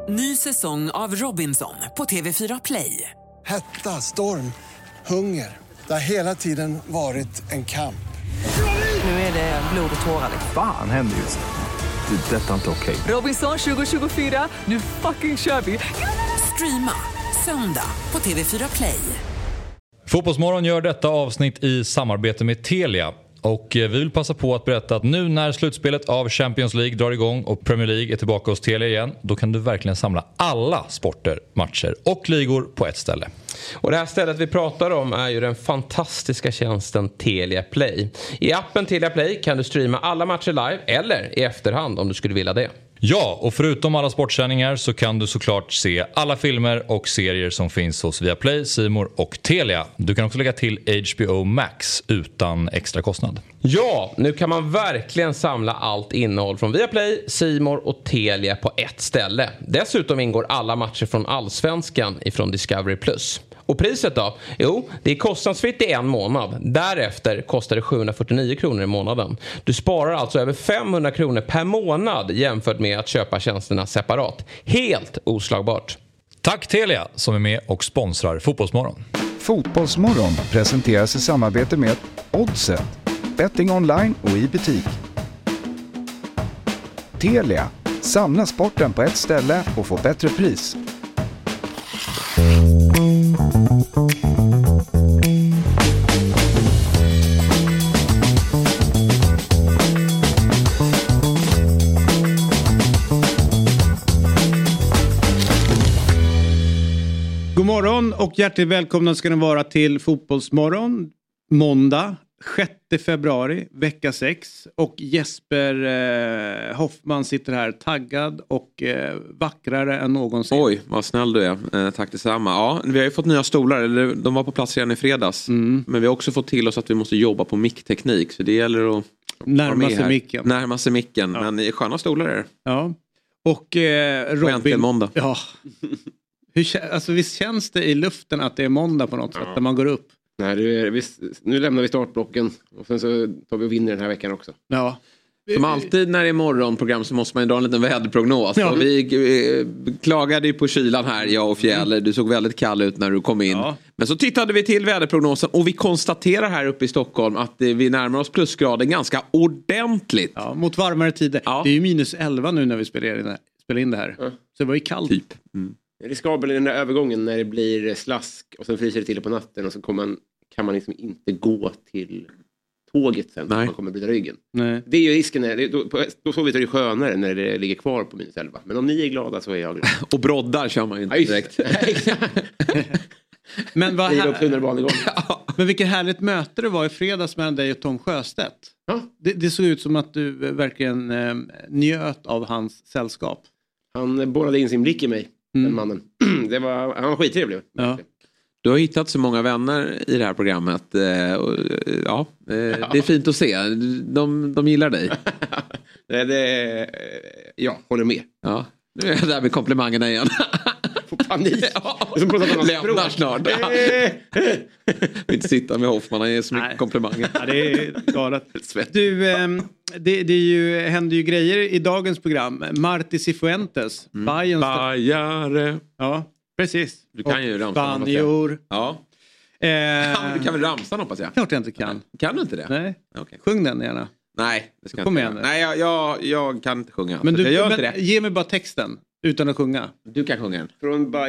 Ny säsong av Robinson på TV4 Play. Hetta, storm, hunger. Det har hela tiden varit en kamp. Nu är det blod och tårar. Fan händer just nu. Det. Detta är inte okej. Robinson 2024, nu fucking kör vi. Streama söndag på TV4 Play. Fotbollsmorgon gör detta avsnitt i samarbete med Telia. Och vi vill passa på att berätta att nu när slutspelet av Champions League drar igång och Premier League är tillbaka hos Telia igen, då kan du verkligen samla alla sporter, matcher och ligor på ett ställe. Och det här stället vi pratar om är ju den fantastiska tjänsten Telia Play. I appen Telia Play kan du streama alla matcher live eller i efterhand om du skulle vilja det. Ja, och förutom alla sportsändningar så kan du såklart se alla filmer och serier som finns hos Viaplay, C More och Telia. Du kan också lägga till HBO Max utan extra kostnad. Ja, nu kan man verkligen samla allt innehåll från Viaplay, C More och Telia på ett ställe. Dessutom ingår alla matcher från Allsvenskan ifrån Discovery+. Och priset då? Jo, det är kostnadsfritt i en månad. Därefter kostar det 749 kronor i månaden. Du sparar alltså över 500 kronor per månad jämfört med att köpa tjänsterna separat. Helt oslagbart. Tack Telia som är med och sponsrar Fotbollsmorgon. Fotbollsmorgon presenteras i samarbete med Oddset. Betting online och i butik. Telia. Samla sporten på ett ställe och få bättre pris. God morgon och hjärtligt välkomna ska ni vara till Fotbollsmorgon. Måndag 6 februari, vecka 6. Och Jesper Hoffman sitter här taggad och vackrare än någonsin. Oj, vad snäll du är. Tack detsamma. Ja, vi har ju fått nya stolar, eller de var på plats redan i fredags. Men vi har också fått till oss att vi måste jobba på mickteknik. Så det gäller att närma sig micken. Ja. Men sköna stolar är det. Ja. Och Robin... måndag. Ja. Alltså, visst känns det i luften att det är måndag på något sätt när man går upp? Nej, nu lämnar vi startblocken och sen så tar vi och vinner den här veckan också. Ja. Som alltid när det är morgonprogram så måste man ju dra en liten väderprognos. Ja. Och vi klagade ju på kylan här, jag och Fjäller. Du såg väldigt kall ut när du kom in. Ja. Men så tittade vi till väderprognosen och vi konstaterar här uppe i Stockholm att vi närmar oss plusgraden ganska ordentligt. Ja, mot varmare tider. Ja. Det är ju minus 11 nu när vi spelar in det här. Ja. Så det var ju kallt. Typ. Riskabel i den där övergången när det blir slask och sen fryser det till på natten och så kan man liksom inte gå till tåget sen. Man kommer bli ryggen. Nej. Det är ju risken. Då får vi ta det skönare när det ligger kvar på minus 11. Men om ni är glada så är jag glad. Och broddar kör man ju inte direkt. Men vad ja. Men vilket härligt möte det var i fredags mellan dig och Tom Sjöstedt. Ja. Det såg ut som att du verkligen njöt av hans sällskap. Han borrade in sin blick i mig. Den mannen. Han var skittrevlig. Ja. Du har hittat så många vänner i det här programmet. Det är fint att se. De gillar dig. Jag håller med. Ja. Nu är jag där med komplimangerna igen. Får panik. Lämnar snart. Vill inte sitta med Hoffman. Han ger så mycket komplimanger. Ja, det är galet. Du, det händer ju grejer i dagens program. Marti Cifuentes. Bajare. Ja, precis. Du kan ju ramsa. Banjor. Ja. Du kan väl ramsa, hoppas jag. Klart jag inte kan. Kan du inte det? Nej. Okay. Sjung den gärna. Nej, det ska Kom jag inte. Nej, jag kan inte sjunga. Men jag gör inte det. Ge mig bara texten utan att sjunga. Du kan sjunga den.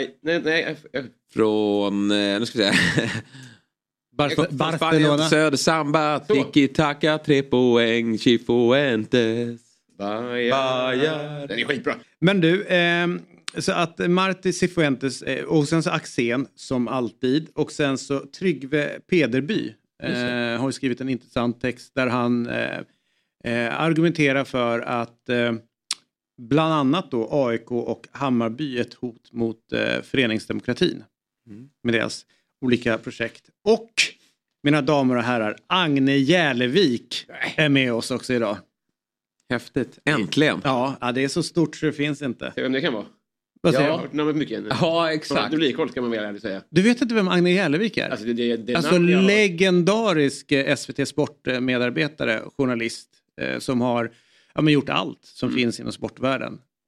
Från nu ska vi se. Barcelona. Södersamba, tiki-taka, 3 poäng, Cifuentes. Bajare. Den är skitbra. Men du, så att Marti Cifuentes och sen så Axén som alltid och sen så Tryggve Pederby har ju skrivit en intressant text där han argumenterar för att bland annat då AIK och Hammarby är ett hot mot föreningsdemokratin med deras olika projekt. Och mina damer och herrar, Agne Järlevik är med oss också idag. Häftigt, äntligen. Ja, det är så stort så det finns inte. Vem det kan vara? Vad säger jag har hört namnet mycket. Ja, exakt. Du blir koll kan man väl ärligt säga. Du vet inte vem Agne Järlevik är? Alltså, legendarisk SVT Sport-medarbetare, journalist som har gjort allt som finns inom sportvärlden.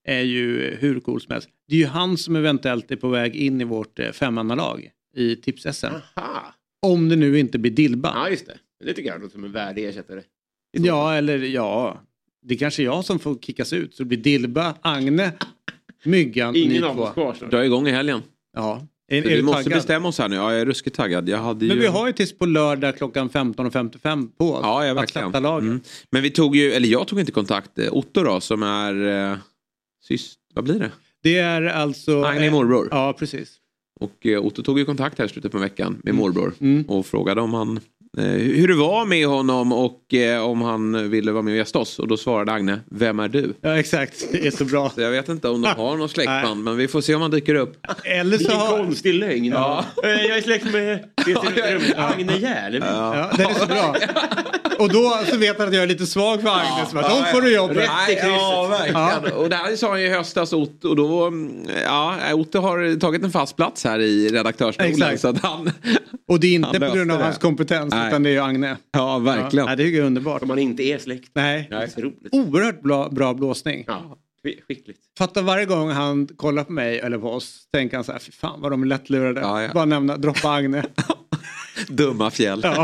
är ju hur cool som helst. Det är ju han som eventuellt är på väg in i vårt 5-mannalag i Tips-SM. Aha. Om det nu inte blir Dilba. Ja, just det. Det tycker jag låter som en värdig ersättare. Det är kanske jag som får kickas ut. Så det blir Dilba, Agne, Myggan. Ingen av oss kvar. Dra igång i helgen. Ja. Vi måste bestämma oss här nu. Ja, jag är ruskigt taggad. Men vi har ju tills på lördag klockan 15:55 på oss. Ja, verkligen. Men jag tog inte kontakt. Otto då, som är vad blir det? Det är alltså... Agne morbror. Ja, precis. Och Otto tog ju kontakt här i slutet på veckan med morbror. Och frågade om han... hur det var med honom och om han ville vara med och gästa oss. Och då svarade Agne, vem är du? Ja, exakt. Det är så bra. Så jag vet inte om de har någon släktband, men vi får se om han dyker upp. Eller så har... konstig lögn. Ja. Jag är släkt med Agne Järleby. Ja, det är så bra. Och då så vet han att jag är lite svag för Agne. Så då får du jobb. Ja, verkligen. Och det här sa han ju i höstas, Otto. Och då, Otto har tagit en fast plats här i redaktörsstolen. Så att han... Och det är inte på grund av hans kompetens, utan det är ju Agne. Ja, verkligen. Ja, det är ju underbart. Om man inte är släkt. Nej. Det är så roligt. Oerhört bra blåsning. Ja, skickligt. Fatta varje gång han kollar på mig eller på oss, tänker han så här, fy fan vad de är lättlurade. Ja. Bara droppa Agne. Dumma fjäll. Ja.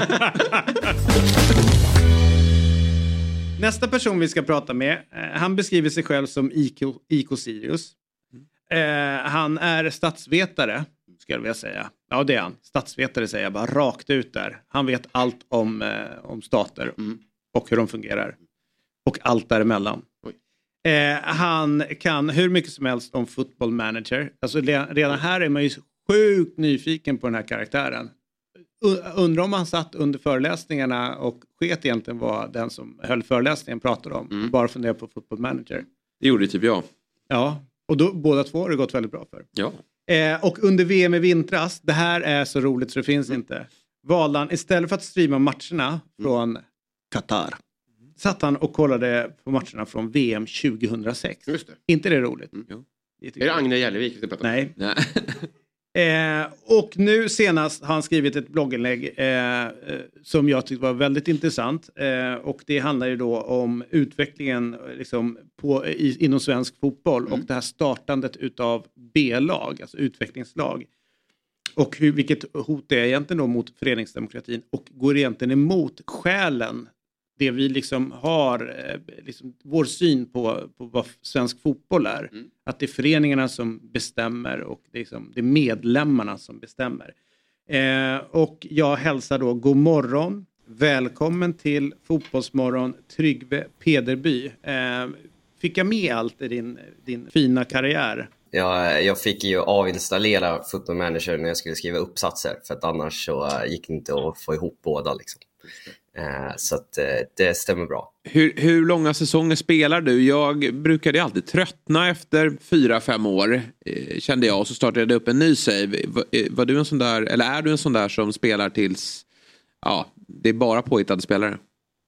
Nästa person vi ska prata med, han beskriver sig själv som IK Sirius. Han är statsvetare, ska jag vilja säga. Ja, det är han. Statsvetare säger jag bara rakt ut där. Han vet allt om stater och hur de fungerar. Och allt däremellan. Han kan hur mycket som helst om Football Manager. Alltså redan här är man ju sjukt nyfiken på den här karaktären. Undrar om han satt under föreläsningarna och sket egentligen vad den som höll föreläsningen pratade om. Bara fundera på Football Manager. Det gjorde typ jag. Ja, och då, båda två har det gått väldigt bra för. Ja. Och under VM i vintras, det här är så roligt så det finns inte. Valde han, istället för att streama matcherna från Qatar, satt han och kollade på matcherna från VM 2006. Just det. Inte det roligt? Är det Agne Järlevik? Nej. Och nu senast har han skrivit ett blogginlägg som jag tyckte var väldigt intressant. Och det handlar ju då om utvecklingen liksom, inom svensk fotboll och det här startandet utav B-lag, alltså utvecklingslag. Och vilket hot det är egentligen då mot föreningsdemokratin och går egentligen emot själen. Det vi liksom har, liksom vår syn på vad svensk fotboll är. Att det är föreningarna som bestämmer och det är medlemmarna som bestämmer. Och jag hälsar då god morgon. Välkommen till Fotbollsmorgon Tryggve Pederby. Fick jag med allt i din fina karriär? Ja, jag fick ju avinstallera Football Manager när jag skulle skriva uppsatser. För att annars så gick det inte att få ihop båda liksom. Så att det stämmer bra. Hur långa säsonger spelar du? Jag brukade alltid tröttna efter 4-5 år, kände jag, och så startade jag upp en ny save. Var du en sån där, eller är du en sån där som spelar tills det är bara påhittade spelare?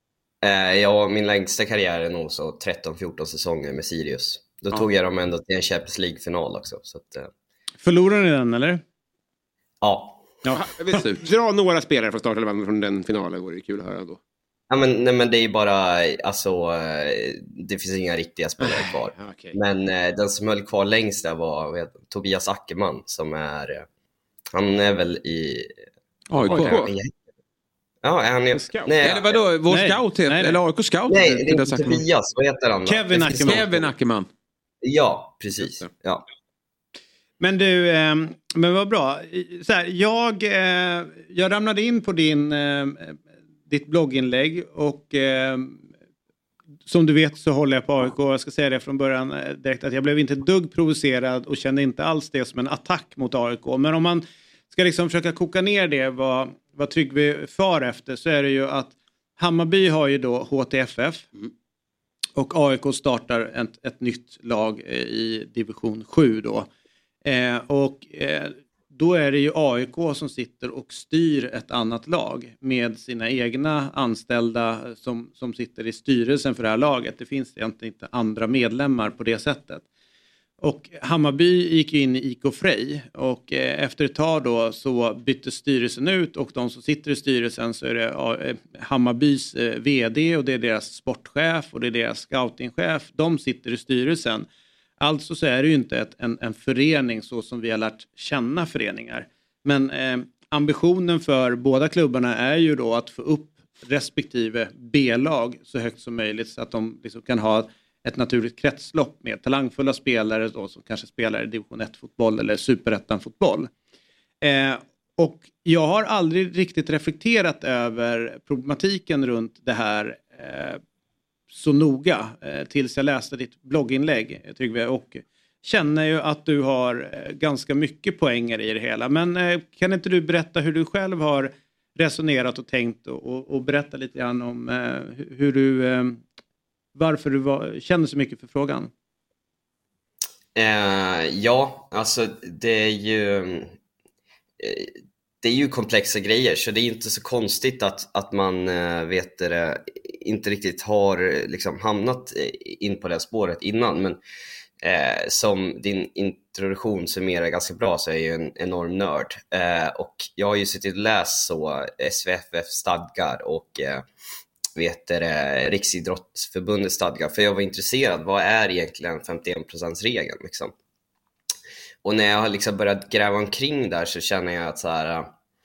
Min längsta karriär är nog så 13-14 säsonger med Sirius. Då tog jag dem ändå till en Champions League-final också. Så att, förlorade ni den, eller? Ja. Dra några spelare från startelvan från den finalen, vore det kul att höra då. Ja, men det är bara, alltså, det finns inga riktiga spelare kvar. Okay. Men den som höll kvar längst där var Tobias Ackerman, som han är väl i AIK. Ja, han är scout. Eller vadå, vår scout eller AIK scout? Nej, det är inte Tobias, vad heter han då? Kevin Ackerman. Ja, precis. Ja. Men du, men vad bra. Så här, jag ramlade in på ditt blogginlägg och som du vet så håller jag på AIK. Jag ska säga det från början direkt att jag blev inte dugg provocerad och kände inte alls det som en attack mot AIK. Men om man ska liksom försöka koka ner det vad Tryggve far efter, så är det ju att Hammarby har ju då HTFF och AIK startar ett nytt lag i division 7 då. Då är det ju AIK som sitter och styr ett annat lag med sina egna anställda som sitter i styrelsen för det här laget. Det finns egentligen inte andra medlemmar på det sättet. Och Hammarby gick in i IK Frej och efter ett tag då så bytte styrelsen ut och de som sitter i styrelsen så är det Hammarbys vd och det är deras sportchef och det är deras scoutingchef. De sitter i styrelsen. Alltså så är det ju inte en förening så som vi har lärt känna föreningar. Men ambitionen för båda klubbarna är ju då att få upp respektive B-lag så högt som möjligt så att de liksom kan ha ett naturligt kretslopp med talangfulla spelare då, som kanske spelar i division 1-fotboll eller superettan-fotboll. Och jag har aldrig riktigt reflekterat över problematiken runt det här så noga tills jag läste ditt blogginlägg, Tryggve, och känner ju att du har ganska mycket poänger i det hela. Men kan inte du berätta hur du själv har resonerat och tänkt och berätta lite grann om hur du, varför du känner så mycket för frågan? Ja, alltså det är ju komplexa grejer, så det är inte så konstigt att man inte riktigt har liksom hamnat in på det spåret innan. Men som din introduktion summerar ganska bra, så är jag ju en enorm nörd. Och jag har ju suttit och läst så SVFF stadgar och Riksidrottsförbundets stadgar, för jag var intresserad, vad är egentligen 51%-regeln liksom? Och när jag har liksom börjat gräva omkring där så känner jag att så här,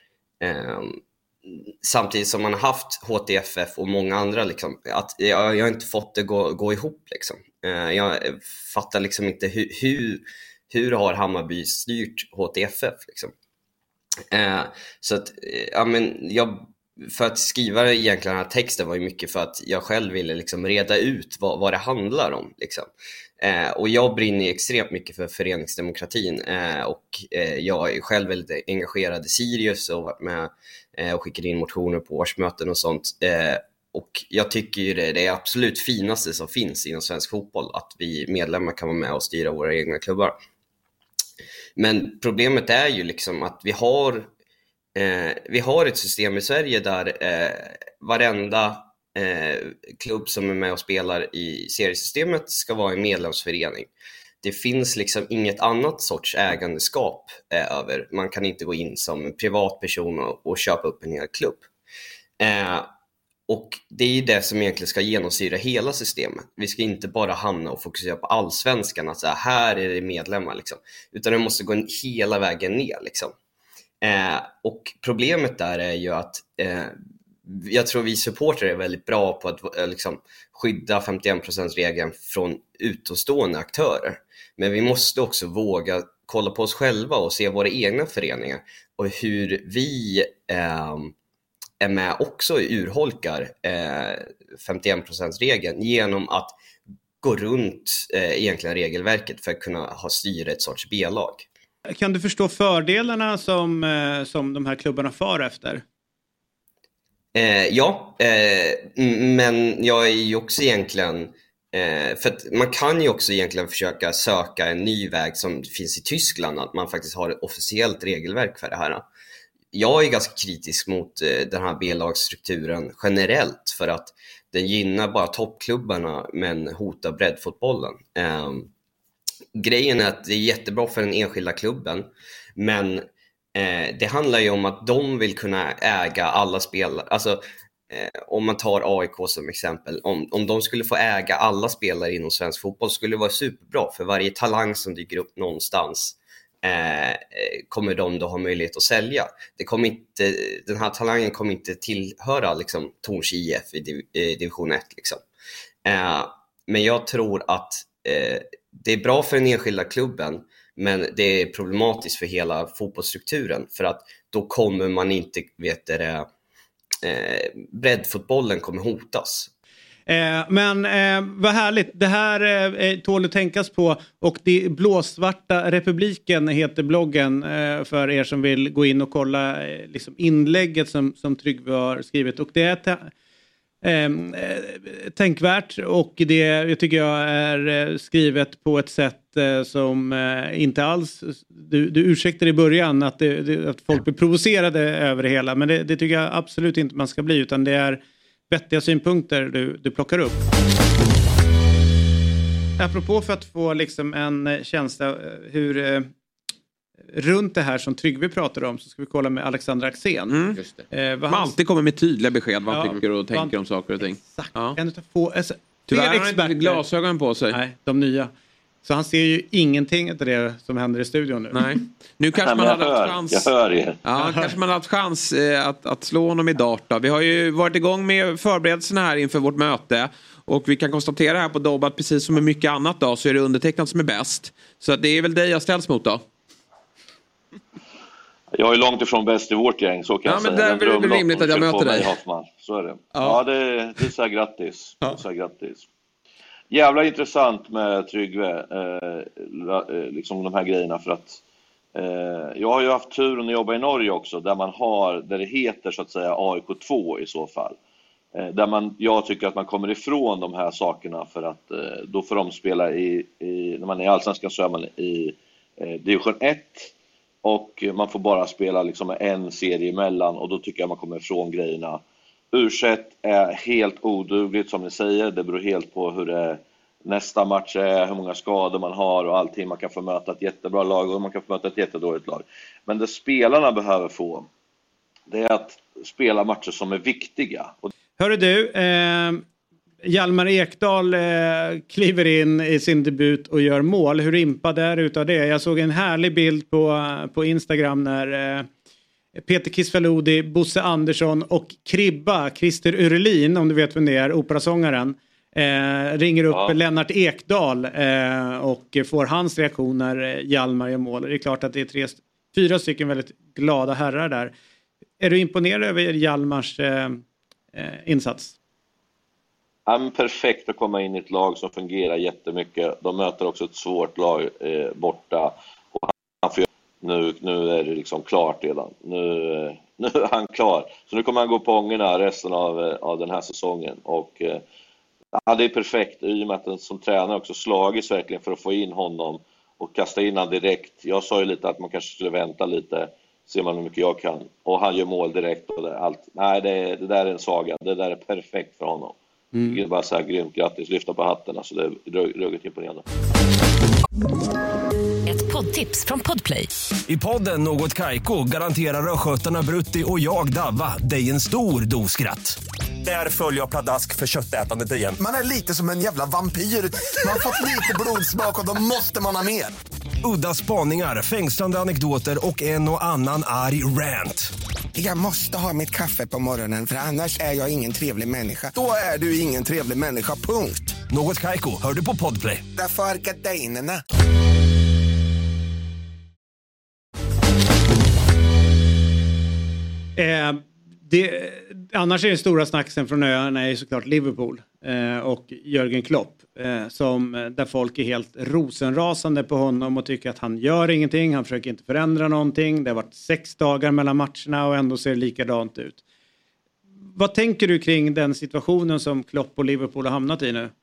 samtidigt som man har haft HTFF och många andra liksom, att jag har inte fått det gå ihop liksom. Jag fattar liksom inte hur har Hammarby styrt HTFF liksom. Så att för att skriva egentligen den här texten var ju mycket för att jag själv ville liksom reda ut vad det handlar om liksom. Och jag brinner extremt mycket för föreningsdemokratin, och jag är själv väldigt engagerad i Sirius och varit med och skickade in motioner på årsmöten och sånt. Och jag tycker ju det är absolut finaste som finns inom svensk fotboll, att vi medlemmar kan vara med och styra våra egna klubbar. Men problemet är ju liksom att vi har ett system i Sverige där varenda klubb som är med och spelar i seriesystemet ska vara en medlemsförening. Det finns liksom inget annat sorts ägandeskap över. Man kan inte gå in som privatperson och köpa upp en hel klubb. Och det är ju det som egentligen ska genomsyra hela systemet. Vi ska inte bara hamna och fokusera på allsvenskan, att så här är det medlemmar liksom. Utan det måste gå hela vägen ner liksom. Och problemet där är ju att jag tror vi supportrar är väldigt bra på att liksom skydda 51%-regeln från utomstående aktörer. Men vi måste också våga kolla på oss själva och se våra egna föreningar och hur vi är med också urholkar 51%-regeln genom att gå runt egentligen regelverket för att kunna styra ett sorts B-lag. Kan du förstå fördelarna som de här klubbarna far efter? Ja, men jag är ju också egentligen, för att man kan ju också egentligen försöka söka en ny väg som finns i Tyskland, att man faktiskt har ett officiellt regelverk för det här. Jag är ganska kritisk mot den här B-lagsstrukturen generellt, för att den gynnar bara toppklubbarna men hotar breddfotbollen. Grejen är att det är jättebra för den enskilda klubben, men det handlar ju om att de vill kunna äga alla spelare. Alltså om man tar AIK som exempel, om de skulle få äga alla spelare inom svensk fotboll skulle det vara superbra, för varje talang som dyker upp någonstans kommer de då ha möjlighet att sälja. Den här talangen kommer inte tillhöra liksom Torns IF i division 1 liksom. Men jag tror att det är bra för den enskilda klubben, men det är problematiskt för hela fotbollsstrukturen, för att då kommer man inte, breddfotbollen kommer hotas. Men vad härligt. Det här tål att tänkas på, och det Blåsvarta republiken heter bloggen för er som vill gå in och kolla liksom inlägget som Tryggve har skrivit, och det är tänkvärt, och det jag tycker jag är skrivet på ett sätt som inte alls du ursäktar i början att folk blir provocerade över det hela, men det tycker jag absolut inte man ska bli, utan det är vettiga synpunkter du plockar upp. Apropå för att få liksom en känsla hur runt det här som Tryggve pratar om, så ska vi kolla med Alexander Axén. Just det. Man alltid kommer med tydliga besked vad han tycker och tänker om saker och ting. Exakt. Ja. En utav få, tyvärr har han inte glasögon på sig. Nej, de nya. Så han ser ju ingenting av det som händer i studion nu. Nej. Nu kanske man hade haft chans. Jag hör er. Ja, kanske man hade haft chans att slå honom i dart då. Vi har ju varit igång med förberedelserna här inför vårt möte. Och vi kan konstatera här på Dobb att precis som med mycket annat då så är det undertecknat som är bäst. Så att det är väl dig jag ställs mot då. Jag är långt ifrån bäst i vårt gäng, så kan jag säga. Men det är väl rimligt att jag möter dig. Så är det. Ja, det är så här grattis. Ja. Så här grattis. Jävla intressant med Tryggve, liksom de här grejerna, för att jag har ju haft turen att jobba i Norge också, där det heter så att säga AIK2 i så fall. Jag tycker att man kommer ifrån de här sakerna, för att då får de spela när man är i Allsvenskan så är man i division 1 och man får bara spela liksom en serie emellan, och då tycker jag man kommer ifrån grejerna. U21 är helt odugligt som ni säger, det beror helt på hur det nästa match är, hur många skador man har och allting. Man kan få möta ett jättebra lag och man kan få möta ett jättedåligt lag. Men det spelarna behöver få, det är att spela matcher som är viktiga. Hörru du, Hjalmar Ekdal kliver in i sin debut och gör mål. Hur impad är utav det? Jag såg en härlig bild på Instagram när Peter Kisvalodi, Bosse Andersson och Kribba, Christer Urelin, om du vet vem det är, operasångaren, ringer upp Lennart Ekdal och får hans reaktion när Hjalmar gör mål. Det är klart att det är 4 stycken väldigt glada herrar där. Är du imponerad över Hjalmars insats? Han är perfekt att komma in i ett lag som fungerar jättemycket. De möter också ett svårt lag borta. Och nu är det liksom klart redan. Nu är han klar. Så nu kommer han gå på ångorna resten av den här säsongen. Och det är perfekt i och med att den som tränare också slagits verkligen för att få in honom och kasta in han direkt. Jag sa ju lite att man kanske skulle vänta lite, ser man hur mycket jag kan. Och han gör mål direkt och allt. Nej, det där är en saga. Det där är perfekt för honom. Det är bara så här grymt, grattis, lyfta på hatten. Alltså det är ruggigt imponerande. Ett poddtips från Podplay. I podden Något Kaiko garanterar röskötarna Brutti och jag Davva dig en stor doskratt. Där följer jag pladask för köttätandet igen. Man är lite som en jävla vampyr. Man har fått lite blodsmak och då måste man ha mer. Udda spaningar, fängslande anekdoter och en och annan arg rant. Jag måste ha mitt kaffe på morgonen för annars är jag ingen trevlig människa. Då är du ingen trevlig människa, punkt. Något Kaiko, hör du på Podplay. Därför är gardinerna. Annars är den stora snacksen från öarna är såklart Liverpool och Jürgen Klopp, där folk är helt rosenrasande på honom och tycker att han gör ingenting, han försöker inte förändra någonting. Det har varit 6 dagar mellan matcherna och ändå ser det likadant ut. Vad tänker du kring den situationen som Klopp och Liverpool har hamnat i nu?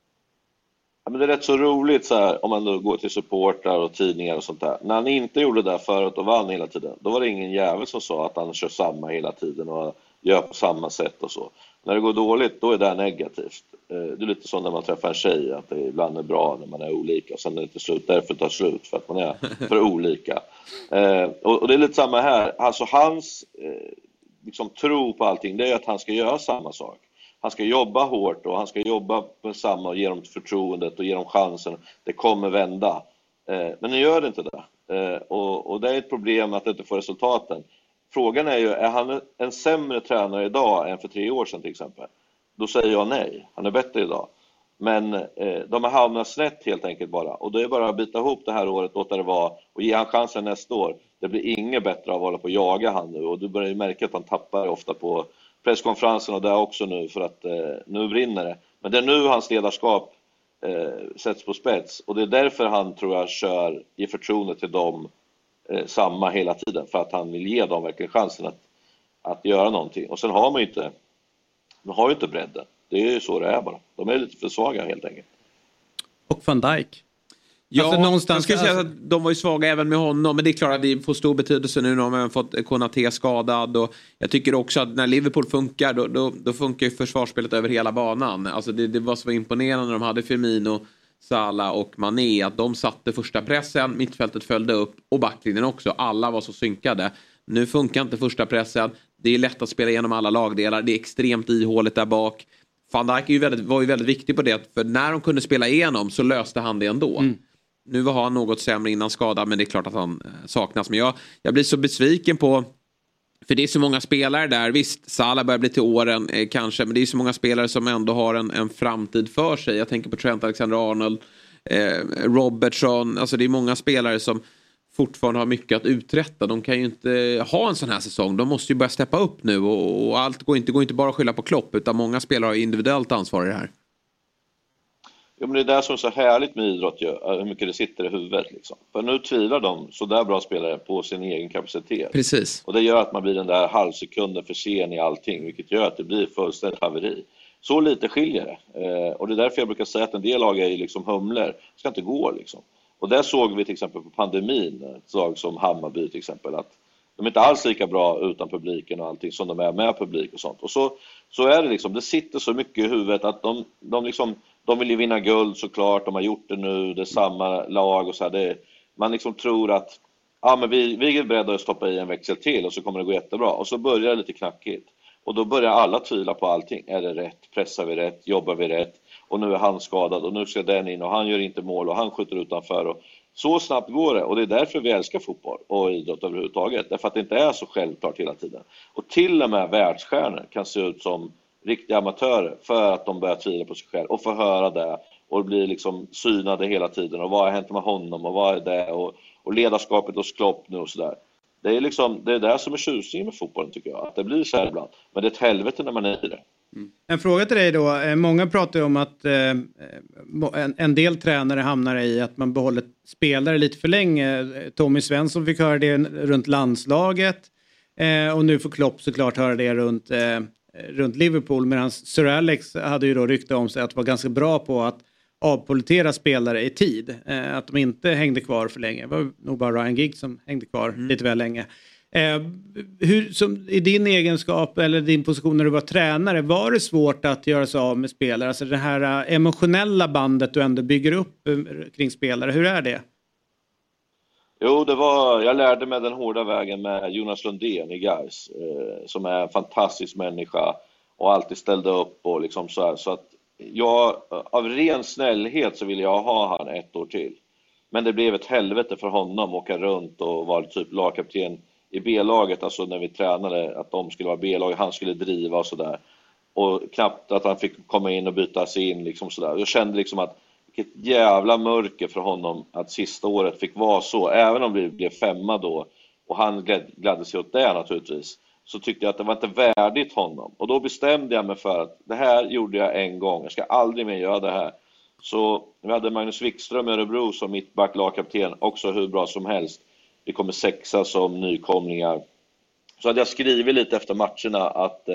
Ja, men det är rätt så roligt så här, om man då går till supportrar och tidningar och sånt där. När han inte gjorde det där förut och vann hela tiden, då var det ingen jävel som sa att han kör samma hela tiden och gör på samma sätt och så. När det går dåligt, då är det negativt. Det är lite så när man träffar en tjej, att det ibland är bra när man är olika och sen är det till slut därför tar slut för att man är för olika. Och det är lite samma här. Alltså hans liksom, tro på allting, det är att han ska göra samma sak. Han ska jobba hårt och han ska jobba med samma och ge dem förtroendet och ge dem chansen. Det kommer vända. Men nu gör det inte det. Och det är ett problem att det inte får resultaten. Frågan är ju, är han en sämre tränare idag än för 3 år sedan till exempel? Då säger jag nej. Han är bättre idag. Men de har hamnat snett helt enkelt bara. Och då är det bara att bita ihop det här året, låta det vara och ge han chansen nästa år. Det blir inget bättre av att hålla på och jaga han nu. Och du börjar ju märka att han tappar ofta på presskonferensen och där också nu, för att nu brinner det. Men det är nu hans ledarskap sätts på spets. Och det är därför han, tror jag, ger förtroende till dem samma hela tiden. För att han vill ge dem verkligen chansen att göra någonting. Och sen har man ju inte bredden. Det är ju så det är bara. De är lite för svaga helt enkelt. Och Van Dijk. Ja, alltså, någonstans, jag skulle säga att de var ju svaga även med honom. Men det är klart att det får stor betydelse nu när de har fått Konaté skadad. Och jag tycker också att när Liverpool funkar, då funkar ju försvarsspelet över hela banan. Alltså det var så imponerande när de hade Firmino, Salah och Mané. Att de satte första pressen, mittfältet följde upp och backlinjen också. Alla var så synkade. Nu funkar inte första pressen. Det är lätt att spela igenom alla lagdelar. Det är extremt ihåligt där bak. Van Dijk var ju väldigt viktig på det. För när de kunde spela igenom så löste han det ändå. Nu var han något sämre innan skada, men det är klart att han saknas. Men jag blir så besviken på, för det är så många spelare där. Visst, Salah börjar bli till åren kanske, men det är så många spelare som ändå har en framtid för sig. Jag tänker på Trent Alexander-Arnold, Robertson. Alltså det är många spelare som fortfarande har mycket att uträtta. De kan ju inte ha en sån här säsong. De måste ju börja steppa upp nu, och allt går inte bara att skylla på Klopp, utan många spelare har individuellt ansvar i det här. Ja, men det är det som är så härligt med idrott ju, hur mycket det sitter i huvudet liksom. För nu tvivlar de så där bra spelare på sin egen kapacitet. Precis. Och det gör att man blir den där halvsekunden för sen i allting, vilket gör att det blir fullständigt haveri. Så lite skiljer det. Och det är därför jag brukar säga att en del lag är liksom humlor. Det ska inte gå liksom. Och där såg vi till exempel på pandemin, ett lag som Hammarby till exempel, att de är inte alls lika bra utan publiken och allting som de är med publik och sånt. Och så är det liksom, det sitter så mycket i huvudet att de vill ju vinna guld såklart, de har gjort det nu, det är samma lag och så här. Man liksom tror att men vi är beredda att stoppa i en växel till och så kommer det gå jättebra. Och så börjar det lite knackigt. Och då börjar alla tvivla på allting. Är det rätt? Pressar vi rätt? Jobbar vi rätt? Och nu är han skadad och nu ska den in och han gör inte mål och han skjuter utanför. Och så snabbt går det, och det är därför vi älskar fotboll och idrott överhuvudtaget. Därför att det inte är så självklart hela tiden. Och till och med världsstjärnor kan se ut som riktiga amatörer för att de börjar tvivla på sig själv och få höra det och blir liksom synade hela tiden. Och vad har hänt med honom och vad är det? Och ledarskapet hos Klopp nu och sådär. Det är liksom, det är det som är tjusningen med fotbollen tycker jag. Att det blir så här ibland. Men det är ett helvete när man är i det. En fråga till dig då. Många pratar ju om att en del tränare hamnar i att man behåller spelare lite för länge. Tommy Svensson fick höra det runt landslaget. Och nu får Klopp såklart höra det runt Liverpool. Medan Sir Alex hade ju då rykte om sig att vara ganska bra på att avpolitera spelare i tid. Att de inte hängde kvar för länge. Det var nog bara Ryan Giggs som hängde kvar lite väl länge. I din egenskap eller din position när du var tränare, var det svårt att göra sig av med spelare? Alltså det här emotionella bandet du ändå bygger upp kring spelare, hur är det? Jo, jag lärde mig den hårda vägen med Jonas Lundén i Gais, som är en fantastisk människa och alltid ställde upp och liksom så här. Så att jag, av ren snällhet så ville jag ha han 1 år till. Men det blev ett helvete för honom att åka runt och vara typ lagkapten i B-laget, alltså när vi tränade att de skulle vara B-lag, han skulle driva och sådär. Och knappt att han fick komma in och byta sig in liksom sådär. Jag kände liksom att vilket jävla mörker för honom att sista året fick vara så. Även om vi blev 5 då och han gladde sig åt det naturligtvis, så tyckte jag att det var inte värdigt honom. Och då bestämde jag mig för att det här gjorde jag en gång. Jag ska aldrig mer göra det här. Så vi hade Magnus Wikström i Örebro som mittback, lagkapten, också hur bra som helst. Vi kommer 6 som nykomlingar. Så hade jag skrivit lite efter matcherna att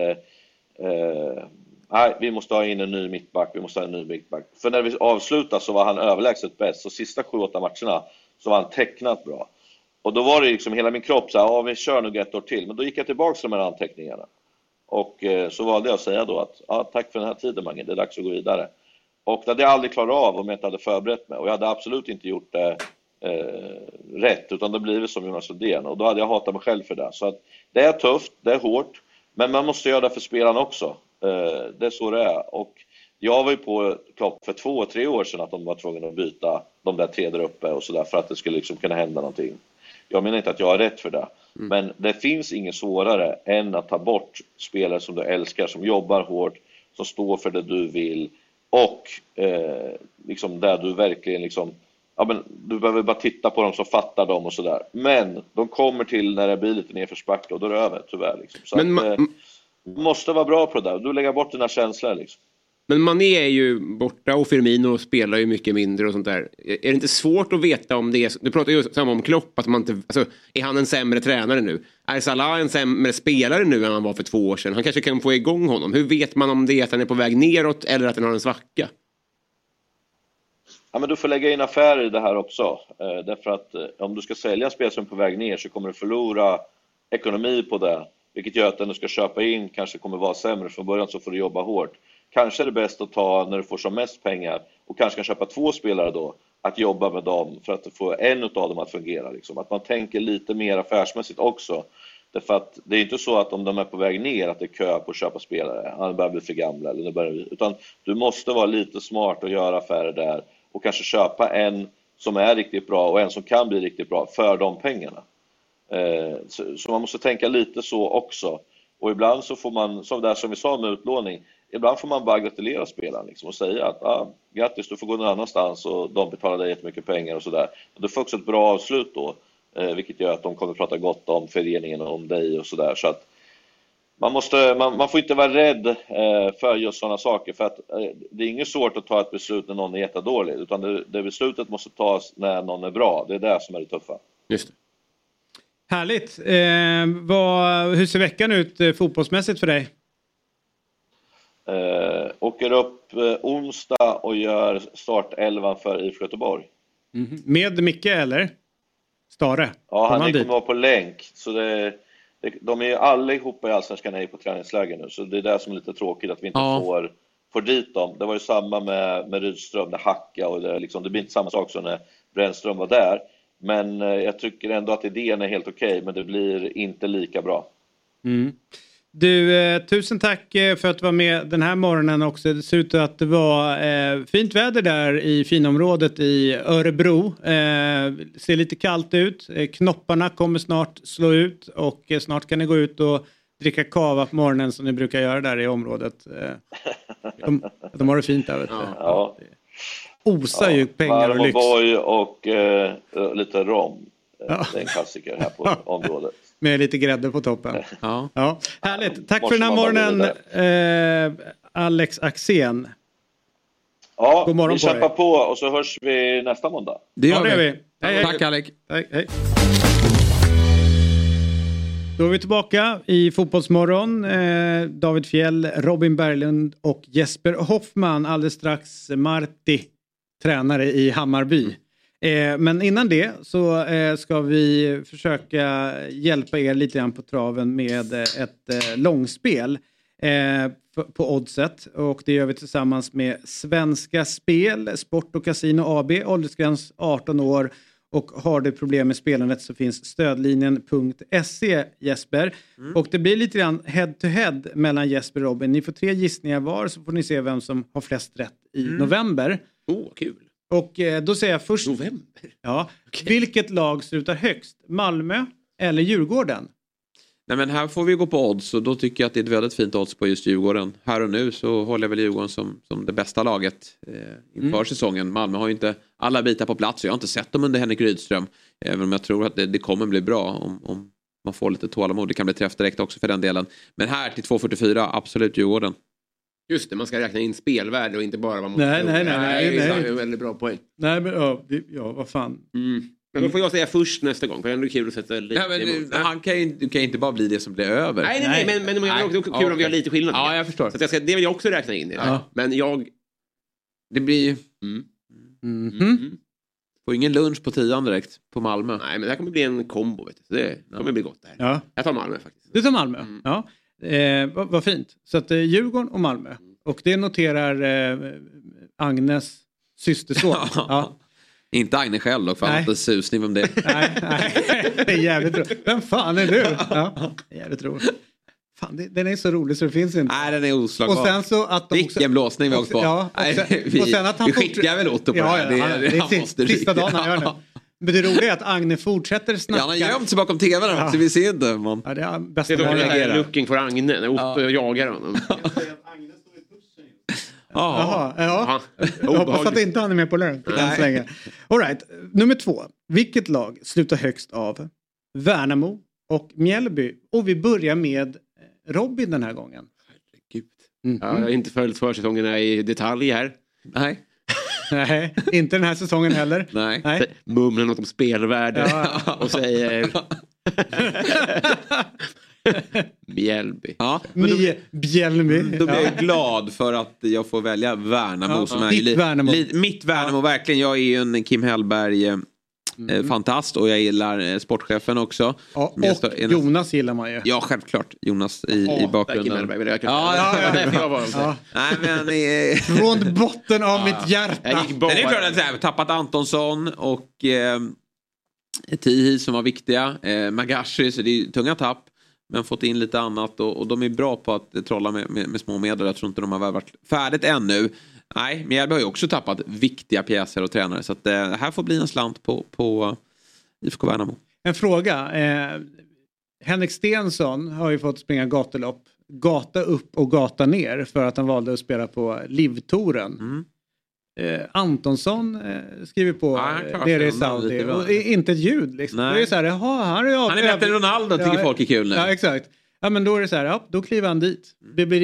nej, vi måste ha in en ny mittback. För när vi avslutade så var han överlägset bäst. Så sista 7-8 matcherna så var han tecknat bra. Och då var det liksom hela min kropp så här, vi kör nog 1 år till. Men då gick jag tillbaka till de här anteckningarna. Och så valde jag att säga då att tack för den här tiden Mange, det är dags att gå vidare. Och det hade jag aldrig klarat av om jag inte hade förberett mig. Och jag hade absolut inte gjort det rätt, utan det blev som Jonas Lundén. Och då hade jag hatat mig själv för det. Så att det är tufft, det är hårt. Men man måste göra det för spelarna också. Det är så det är. Och jag var ju på Klopp för 2-3 år sedan att de var tvungna att byta de där 3 där uppe och sådär för att det skulle liksom kunna hända någonting. Jag menar inte att jag har rätt för det. Men det finns inget svårare än att ta bort spelare som du älskar, som jobbar hårt, som står för det du vill och liksom där du verkligen liksom, ja, men du behöver bara titta på dem som fattar dem och sådär. Men de kommer till när det blir lite nerförsbacke och då är det över tyvärr liksom. Så men att, du måste vara bra på det där. Du lägger bort dina känslor liksom. Men Mané är ju borta och Firmino spelar ju mycket mindre och sånt där. Är det inte svårt att veta om det är... Du pratar ju samma om Klopp, att man inte... Alltså, är han en sämre tränare nu? Är Salah en sämre spelare nu än han var för 2 år sedan? Han kanske kan få igång honom. Hur vet man om det är att han är på väg neråt eller att han har en svacka? Ja, men du får lägga in affärer i det här också. Därför att om du ska sälja en spel som är på väg ner så kommer du förlora ekonomi på det. Vilket gör att den du ska köpa in kanske kommer vara sämre. Från början så får du jobba hårt. Kanske är det bäst att ta när du får som mest pengar och kanske kan köpa 2 spelare då, att jobba med dem för att få en av dem att fungera liksom. Att man tänker lite mer affärsmässigt också. Därför att det är inte så att om de är på väg ner att det är kö på att köpa spelare, han börjar bli för gamla eller utan du måste vara lite smart och göra affärer där och kanske köpa en som är riktigt bra och en som kan bli riktigt bra för de pengarna. Så man måste tänka lite så också. Och ibland så får man, som vi sa med utlåning, ibland får man bara gratulera spelaren liksom, och säga att grattis, du får gå någon annanstans och de betalar dig jättemycket pengar och sådär. Du får också ett bra avslut då, vilket gör att de kommer prata gott om föreningen och om dig och sådär. Så att man får inte vara rädd för just sådana saker, för att det är inget svårt att ta ett beslut när någon är jättedålig, utan det beslutet måste tas när någon är bra. Det är det som är det tuffa. Just det. Härligt. Hur ser veckan ut fotbollsmässigt för dig? Åker upp onsdag och gör startelvan för IFK Göteborg. Med Micke eller? Stare? Ja, han kommer vara på länk. Så de är ju allihopa i Allsvenskan här på träningsläger nu. Så det är det som är lite tråkigt att vi inte får dit dem. Det var ju samma med Rydström, med Hacka. Och det blir inte samma sak som när Brännström var där. Men jag tycker ändå att idén är helt okej, men det blir inte lika bra. Du, tusen tack för att du var med den här morgonen också. Det ser ut att det var fint väder där i finområdet i Örebro. Ser lite kallt ut. Knopparna kommer snart slå ut och snart kan ni gå ut och dricka kava på morgonen som ni brukar göra där i området. De har det fint där. Ja. Osar ju pengar och lyx. Boy och lite rom. Det är en klassiker här på området. Med lite grädde på toppen. Ja. Härligt. Tack för den här morgonen, Alex Axén. Ja, god morgon vi kämpar på och så hörs vi nästa måndag. Det gör vi. Hej. Tack, Alex. Hej. Då är vi tillbaka i Fotbollsmorgon. David Fjell, Robin Berglund och Jesper Hoffman. Alldeles strax Marti, tränare i Hammarby. Men innan det så ska vi försöka hjälpa er lite grann på traven med ett långspel på Oddset. Och det gör vi tillsammans med Svenska Spel, Sport och Casino AB, åldersgräns 18 år. Och har du problem med spelandet så finns stödlinjen.se, Jesper. Och det blir lite grann head-to-head mellan Jesper och Robin. Ni får 3 gissningar var, så får ni se vem som har flest rätt i november. Kul. Och då säger jag först... November? Ja. Okay. Vilket lag slutar högst? Malmö eller Djurgården? Nej, men här får vi gå på odds, och då tycker jag att det är ett väldigt fint odds på just Djurgården. Här och nu så håller jag väl Djurgården som det bästa laget inför säsongen. Malmö har ju inte alla bitar på plats, och jag har inte sett dem under Henrik Rydström. Även om jag tror att det kommer bli bra om man får lite tålamod. Det kan bli träff direkt också för den delen. Men här till 2,44, absolut Djurgården. Just det, man ska räkna in spelvärde och inte bara vad man... Nej. Det är en väldigt bra poäng. Nej, men vad fan. Men då får jag säga först nästa gång, för det är ändå kul att sätta lite emot. Du kan inte bara bli det som blir över. Nej, men det är också kul om vi har lite skillnad. Ja, jag förstår. Så att det vill jag också räkna in i det. Ja. Men det blir får ingen lunch på 10 direkt på Malmö. Nej, men det här kommer bli en kombo, vet du. Det kommer bli gott där. Ja. Jag tar Malmö faktiskt. Du tar Malmö? Ja. Vad fint. Så att Djurgården och Malmö. Och det noterar Agnes systerson. Ja. Inte Agne själv dock, för han har inte susning om det. Nej, det är jävligt roligt. Vem fan är du? Ja, jävligt roligt. Fan, den är så rolig så det finns inte. Nej, den är oslagbar. Och sen så att vilken blåsning vi har åkt på. Ja, och sen att vi skickar väl Otto på det här. Det är sista dagen han gör nu. Men det roliga är att Agne fortsätter snacka. Ja, han har gömt sig bakom tvn så vi ser inte. Man. Ja, det är bästa det är looking for Agne när Otto jagar honom. Ja. Jag hoppas att inte han är med på lön. All right. Nummer 2. Vilket lag slutar högst av Värnamo och Mjällby? Och vi börjar med Robin den här gången. Herregud. Jag har inte följt försäsongerna i detalj här. Nej, inte den här säsongen heller. Nej. Mumlar något om spelvärde och säger... Mjällby. Ja, Mjällby. Då blir jag glad för att jag får välja Värnamo som är mitt Värnamo verkligen. Jag är ju en Kim Hellberg fantast, och jag gillar sportchefen också. Ja, och Jonas gillar man ju. Ja, självklart. Jonas i bakgrunden. Nej, men från botten av mitt hjärta. Det är klart att jag har tappat Antonsson och Tihi som var viktiga. Magashi, så det är tunga tapp. Men fått in lite annat, och de är bra på att trolla med små medel. Jag tror inte de har varit färdigt ännu. Nej, Mjällby har ju också tappat viktiga pjäser och tränare. Så att det här får bli en slant på IFK Värnamo. En fråga. Henrik Stensson har ju fått springa gatulopp. Gata upp och gata ner för att han valde att spela på Livtouren. Antonsson skriver på det är i Saudi. Och inte ett ljud liksom. Det är så här, han är bättre än Ronaldo, tycker folk är kul nu. Ja, exakt. Ja, men då är det så här, då kliver han dit. Det blir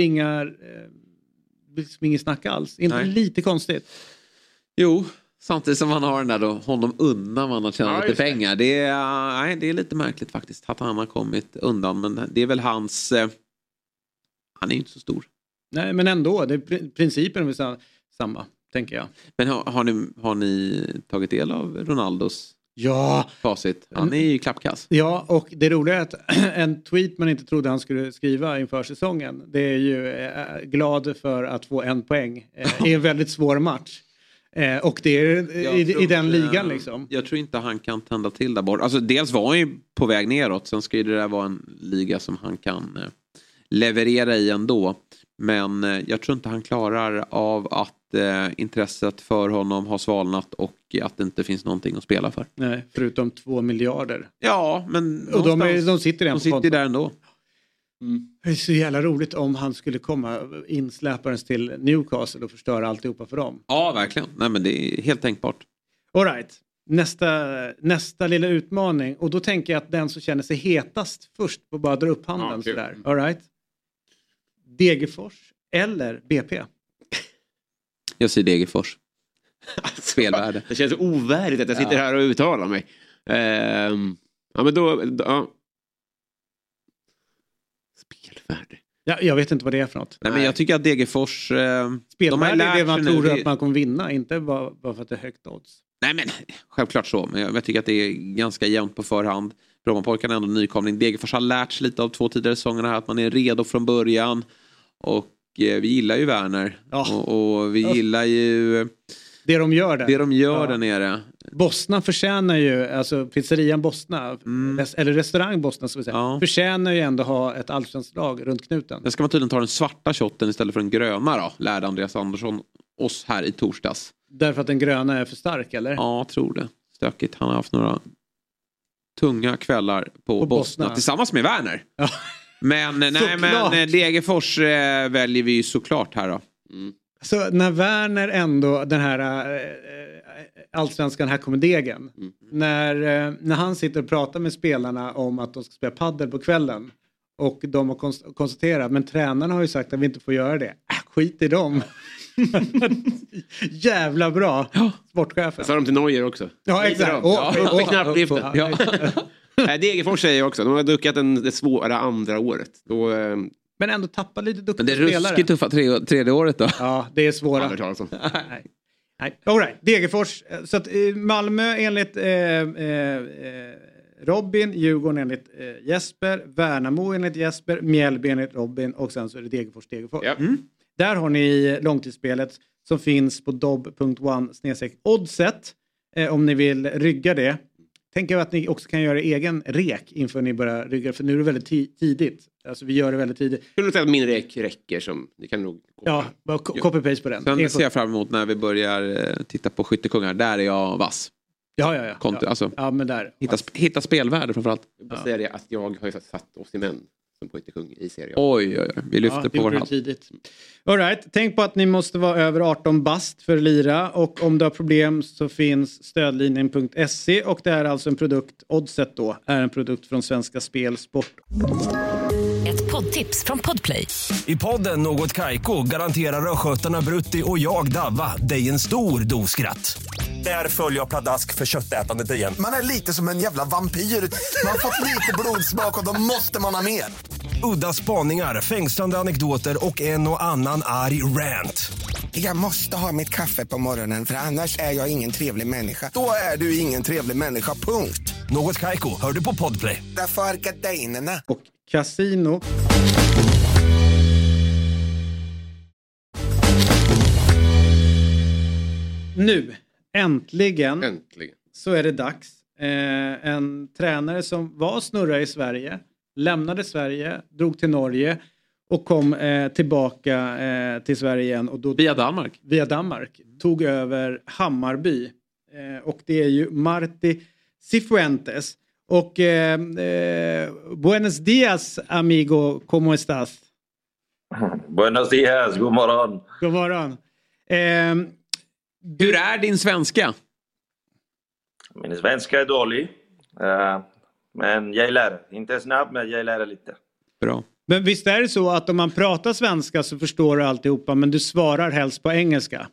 ingen snack alls. Inte lite konstigt. Jo, samtidigt som han har den där då, honom undan man har tjänat lite pengar. Det är lite märkligt faktiskt att han har kommit undan. Men det är väl hans... han är ju inte så stor. Nej, men ändå. Principen är väl samma, tänker jag. Men har ni tagit del av Ronaldos facit? Han är ju klappkass. Ja, och det roliga är att en tweet man inte trodde han skulle skriva inför säsongen. Det är ju glad för att få 1 poäng i en väldigt svår match. Och det är i den ligan liksom. Jag tror inte han kan tända till där bort. Alltså dels var han ju på väg neråt. Sen ska ju det där vara en liga som han kan leverera i ändå. Men jag tror inte han klarar av att intresset för honom har svalnat och att det inte finns någonting att spela för. Nej, förutom 2 miljarder. Ja, men och de sitter där ändå. Det är så jävla roligt om han skulle komma insläpparens till Newcastle och förstöra alltihopa för dem. Ja, verkligen. Nej, men det är helt tänkbart. All right. Nästa lilla utmaning. Och då tänker jag att den som känner sig hetast först får bara dra upp handen sådär. All right. Degerfors eller BP? Jag säger Degerfors. Spelvärde. Det känns ovärdigt att jag sitter här och uttalar mig. Ja, men då... Spelvärde. Ja, jag vet inte vad det är för något. Nej, men jag tycker att Degerfors... Spelvärde är det man tror att man kommer vinna. Inte bara för att det är högt odds. Nej, men självklart så. Men jag tycker att det är ganska jämnt på förhand. Brommapojkarna är ändå nykomling. Degerfors har lärt sig lite av 2 tidigare säsongerna här. Att man är redo från början. Och vi gillar ju Werner. Ja. Och vi gillar ju... Det de gör där nere. Bosna förtjänar ju, alltså pizzerian Bosna, eller restaurang Bosna ska vi säga, förtjänar ju ändå ha ett allsvenskt lag runt knuten. Det ska man tydligen ta den svarta shotten istället för den gröna då, lärde Andreas Andersson oss här i torsdags. Därför att den gröna är för stark, eller? Ja, jag tror det. Stökigt. Han har haft några tunga kvällar på Bosna tillsammans med Werner. Ja. Men Degerfors väljer vi ju såklart här då. Så när Werner ändå, den här allsvenskan, här kommer degen. När han sitter och pratar med spelarna om att de ska spela paddel på kvällen. Och de har konstaterat, men tränarna har ju sagt att vi inte får göra det. Skit i dem. Jävla bra. Sportchefen. Jag sa de till Neuer också. Ja, exakt. Degerfors säger jag också. De har duckat det svåra andra året. Då... Men ändå tappa lite duktiga spelare. Men det är ruskigt tuffa tredje året då. Ja, det är svåra. Nej. All right. Degerfors. Så att Malmö enligt Robin, Djurgården enligt Jesper, Värnamo enligt Jesper, Mjällby enligt Robin och sen så är det Degerfors. Yep. Där har ni långtidsspelet som finns på dobb.one/oddset om ni vill rygga det. Tänker att ni också kan göra egen rek inför ni börjar rygga, för nu är det väldigt tidigt. Alltså vi gör det väldigt tidigt. Jag tror att min rek räcker som ni kan nog... Ja, bara copy-paste på den. Sen ser jag fram emot när vi börjar titta på skyttekungar. Där är jag vass. Ja. Alltså, men där. Hitta spelvärde framförallt. Jag bara säga det att jag har ju satt Osimhen som skyttekung i serien. Oj. Vi lyfter på vår hand. Tidigt. All right. Tänk på att ni måste vara över 18 bast för lira. Och om du har problem så finns stödlinjen.se. Och det är alltså en produkt, Oddset då, är en produkt från Svenska Spel Sport. Ett poddtips från Podplay. I podden Något Kaiko garanterar röskötarna Brutti och jag Davva dig en stor doskratt. Där följer jag pladask för köttätandet igen. Man är lite som en jävla vampyr. Man har fått lite blodsmak och då måste man ha mer. Udda spaningar, fängslande anekdoter och en och annan arg rant. Jag måste ha mitt kaffe på morgonen för annars är jag ingen trevlig människa. Då är du ingen trevlig människa, punkt. Något Kaiko, hör du på Podplay. Därför är gardinerna. Och Casino. Nu, äntligen så är det dags. En tränare som var snurra i Sverige, lämnade Sverige, drog till Norge och kom tillbaka till Sverige igen. Och då, Via Danmark. Tog över Hammarby. Och det är ju Marti Cifuentes. Och buenos dias, amigo. ¿Cómo estás? Buenos dias, god morgon. God morgon. Hur är din svenska? Min svenska är dålig. Men jag lär. Inte snabb, men jag lär lite. Bra. Men visst är det så att om man pratar svenska så förstår du alltihopa, men du svarar helst på engelska?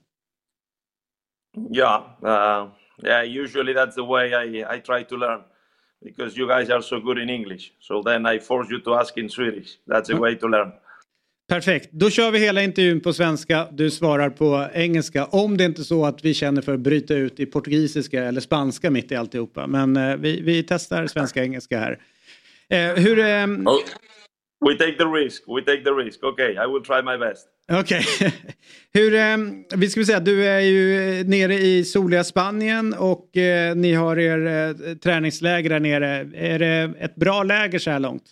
Ja, usually that's the way I try to learn. Because you guys are so good in English. So then I force you to ask in Swedish. That's the way to learn. Perfekt. Då kör vi hela intervjun på svenska. Du svarar på engelska. Om det inte är så att vi känner för att bryta ut i portugisiska eller spanska mitt i alltihopa. Men vi testar svenska-engelska här. We take the risk. Okay, I will try my best. Okej. Vi ska säga, du är ju nere i soliga Spanien och ni har er träningsläger där nere. Är det ett bra läger så här långt?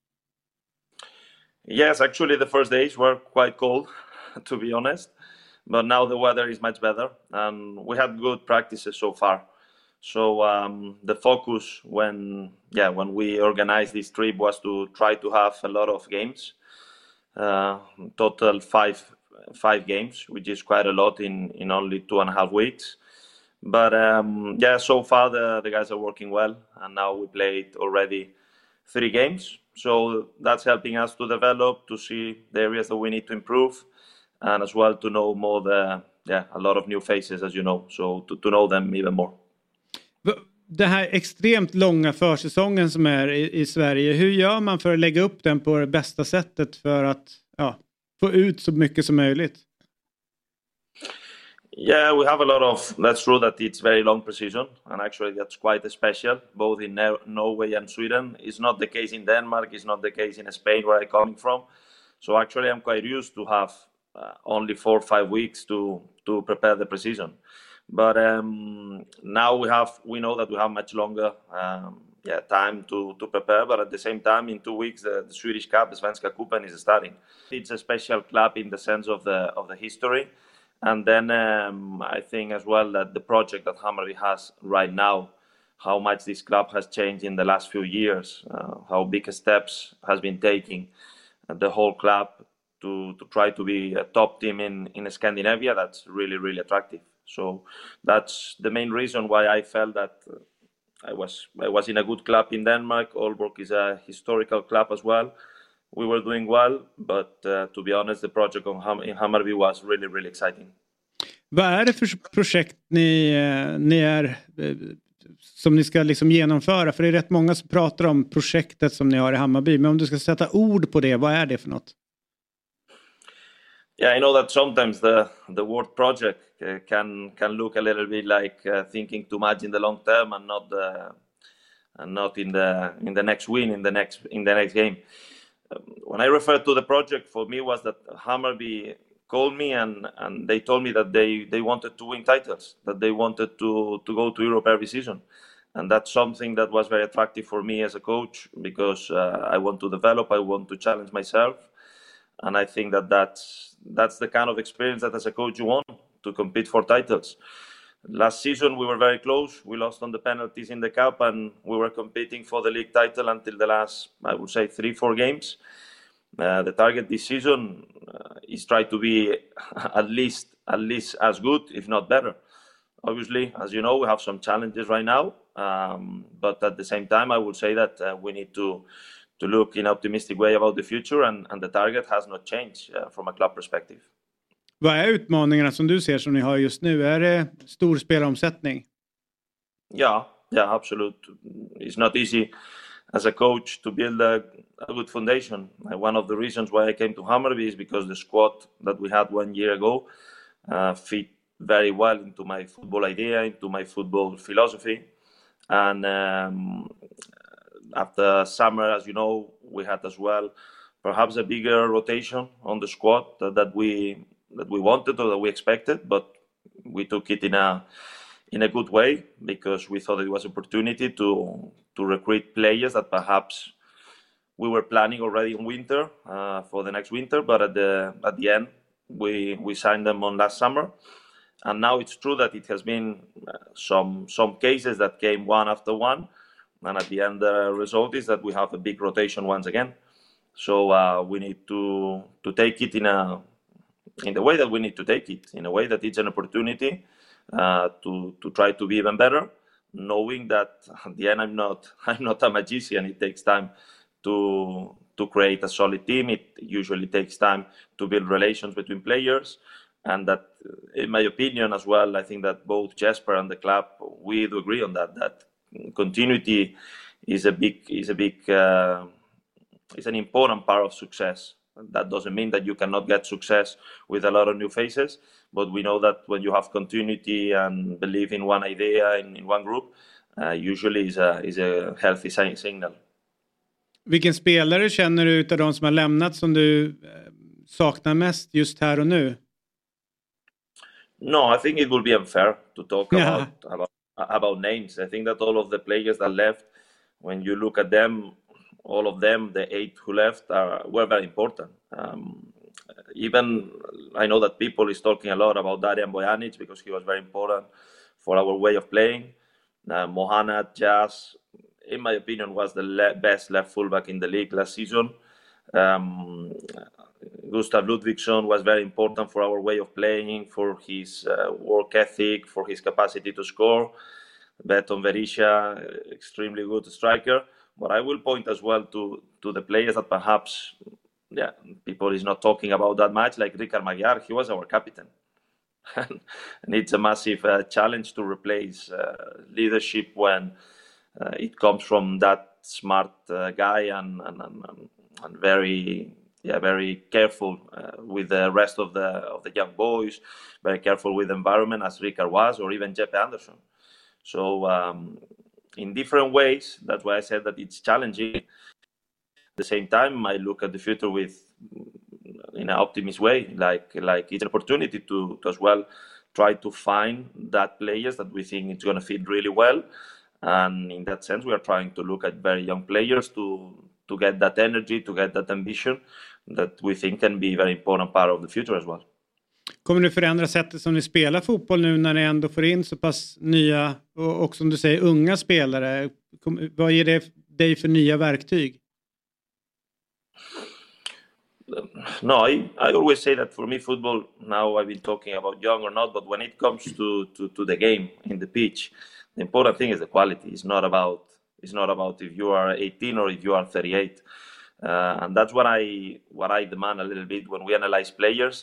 Yes, actually the first days were quite cold, to be honest. But now the weather is much better and we had good practices so far. So the focus when we organized this trip was to try to have a lot of games. Total five games, which is quite a lot in only 2.5 weeks. But so far the guys are working well, and now we played already 3 games. So that's helping us to develop, to see the areas that we need to improve, and as well to know more a lot of new faces, as you know. So to know them even more. Det här extremt långa försäsongen som är i Sverige, hur gör man för att lägga upp den på det bästa sättet för att få ut så mycket som möjligt? Yeah, we have a lot of, that's true that it's very long precision, and actually that's quite special, both in Norway and Sweden. It's not the case in Denmark, it's not the case in Spain where I'm coming from. So actually I'm quite used to have only 4 or 5 weeks to prepare the precision. But now we know that we have much longer time to prepare. But at the same time, in 2 weeks, the Swedish Cup, the Svenska Cupen, is starting. It's a special club in the sense of the history, and then I think as well that the project that Hammarby has right now, how much this club has changed in the last few years, how big steps has been taking the whole club to try to be a top team in Scandinavia. That's really, really attractive. So that's the main reason why I felt that I was in a good club in Denmark. Aalborg is a historical club as well. We were doing well, but to be honest, the project in Hammarby was really, really exciting. Vad är det för projekt ni är som ni ska liksom genomföra? För det är rätt många som pratar om projektet som ni har i Hammarby. Men om du ska sätta ord på det, vad är det för något? Yeah, I know that sometimes the word project can look a little bit like thinking too much in the long term and not in the next win in the next game. When I refer to the project, for me was that Hammarby called me and they told me that they wanted to win titles, that they wanted to go to Europe every season. And that's something that was very attractive for me as a coach because I want to develop, I want to challenge myself. And I think that's the kind of experience that as a coach you want, to compete for titles. Last season we were very close. We lost on the penalties in the cup and we were competing for the league title until the last, I would say, 3-4 games. The target this season is try to be at least as good, if not better. Obviously, as you know, we have some challenges right now. But at the same time, I would say that we need to look in an optimistic way about the future and the target has not changed from a club perspective. Vad är utmaningarna som du ser som ni har just nu? Är det stor spelaromsättning? Ja, absolut. It's not easy as a coach to build a good foundation. One of the reasons why I came to Hammarby is because the squad that we had 1 year ago fit very well into my football idea, into my football philosophy. And after summer, as you know, we had as well perhaps a bigger rotation on the squad that we wanted or that we expected, but we took it in a good way because we thought it was an opportunity to recruit players that perhaps we were planning already in winter for the next winter, but at the end we signed them on last summer. And now it's true that it has been some cases that came one after one, and at the end the result is that we have a big rotation once again. So we need to take it in the way that we need to take it, in a way that it's an opportunity to try to be even better, knowing that at the end I'm not a magician. It takes time to create a solid team. It usually takes time to build relations between players, and that, in my opinion as well, I think that both Jesper and the club, we do agree on that continuity is an important part of success. That doesn't mean that you cannot get success with a lot of new faces, but we know that when you have continuity and believe in one idea in one group, usually is a healthy signal. Vilken spelare känner du utav de som har lämnat som du saknar mest just här och nu? No, I think it will be unfair to talk about names. I think that all of the players that left, when you look at them, all of them, the 8 who left, were very important. Even I know that people is talking a lot about Darijan Bojanic because he was very important for our way of playing. Mohana Jazz, in my opinion, was the best left fullback in the league last season. Gustav Ludvigsson was very important for our way of playing, for his work ethic, for his capacity to score. Beton Verisha, extremely good striker. But I will point as well to the players that perhaps people is not talking about that much, like Ricard Magyar. He was our captain. And it's a massive challenge to replace leadership when it comes from that smart guy and very careful with the rest of the young boys, very careful with the environment as Ricard was, or even Jeppe Andersson. So in different ways, that's why I said that it's challenging. At the same time, I look at the future in an optimist way, like it's an opportunity to as well try to find that players that we think it's going to fit really well. And in that sense, we are trying to look at very young players to get that energy, to get that ambition that we think can be a very important part of the future as well. Kommer du förändra sättet som ni spelar fotboll nu när ni ändå får in så pass nya och som du säger unga spelare? Vad ger det dig för nya verktyg? No, I always say that for me football, now I've been talking about young or not, but when it comes to the game in the pitch, the important thing is the quality. It's not about if you are 18 or if you are 38. And that's what I demand a little bit when we analyze players.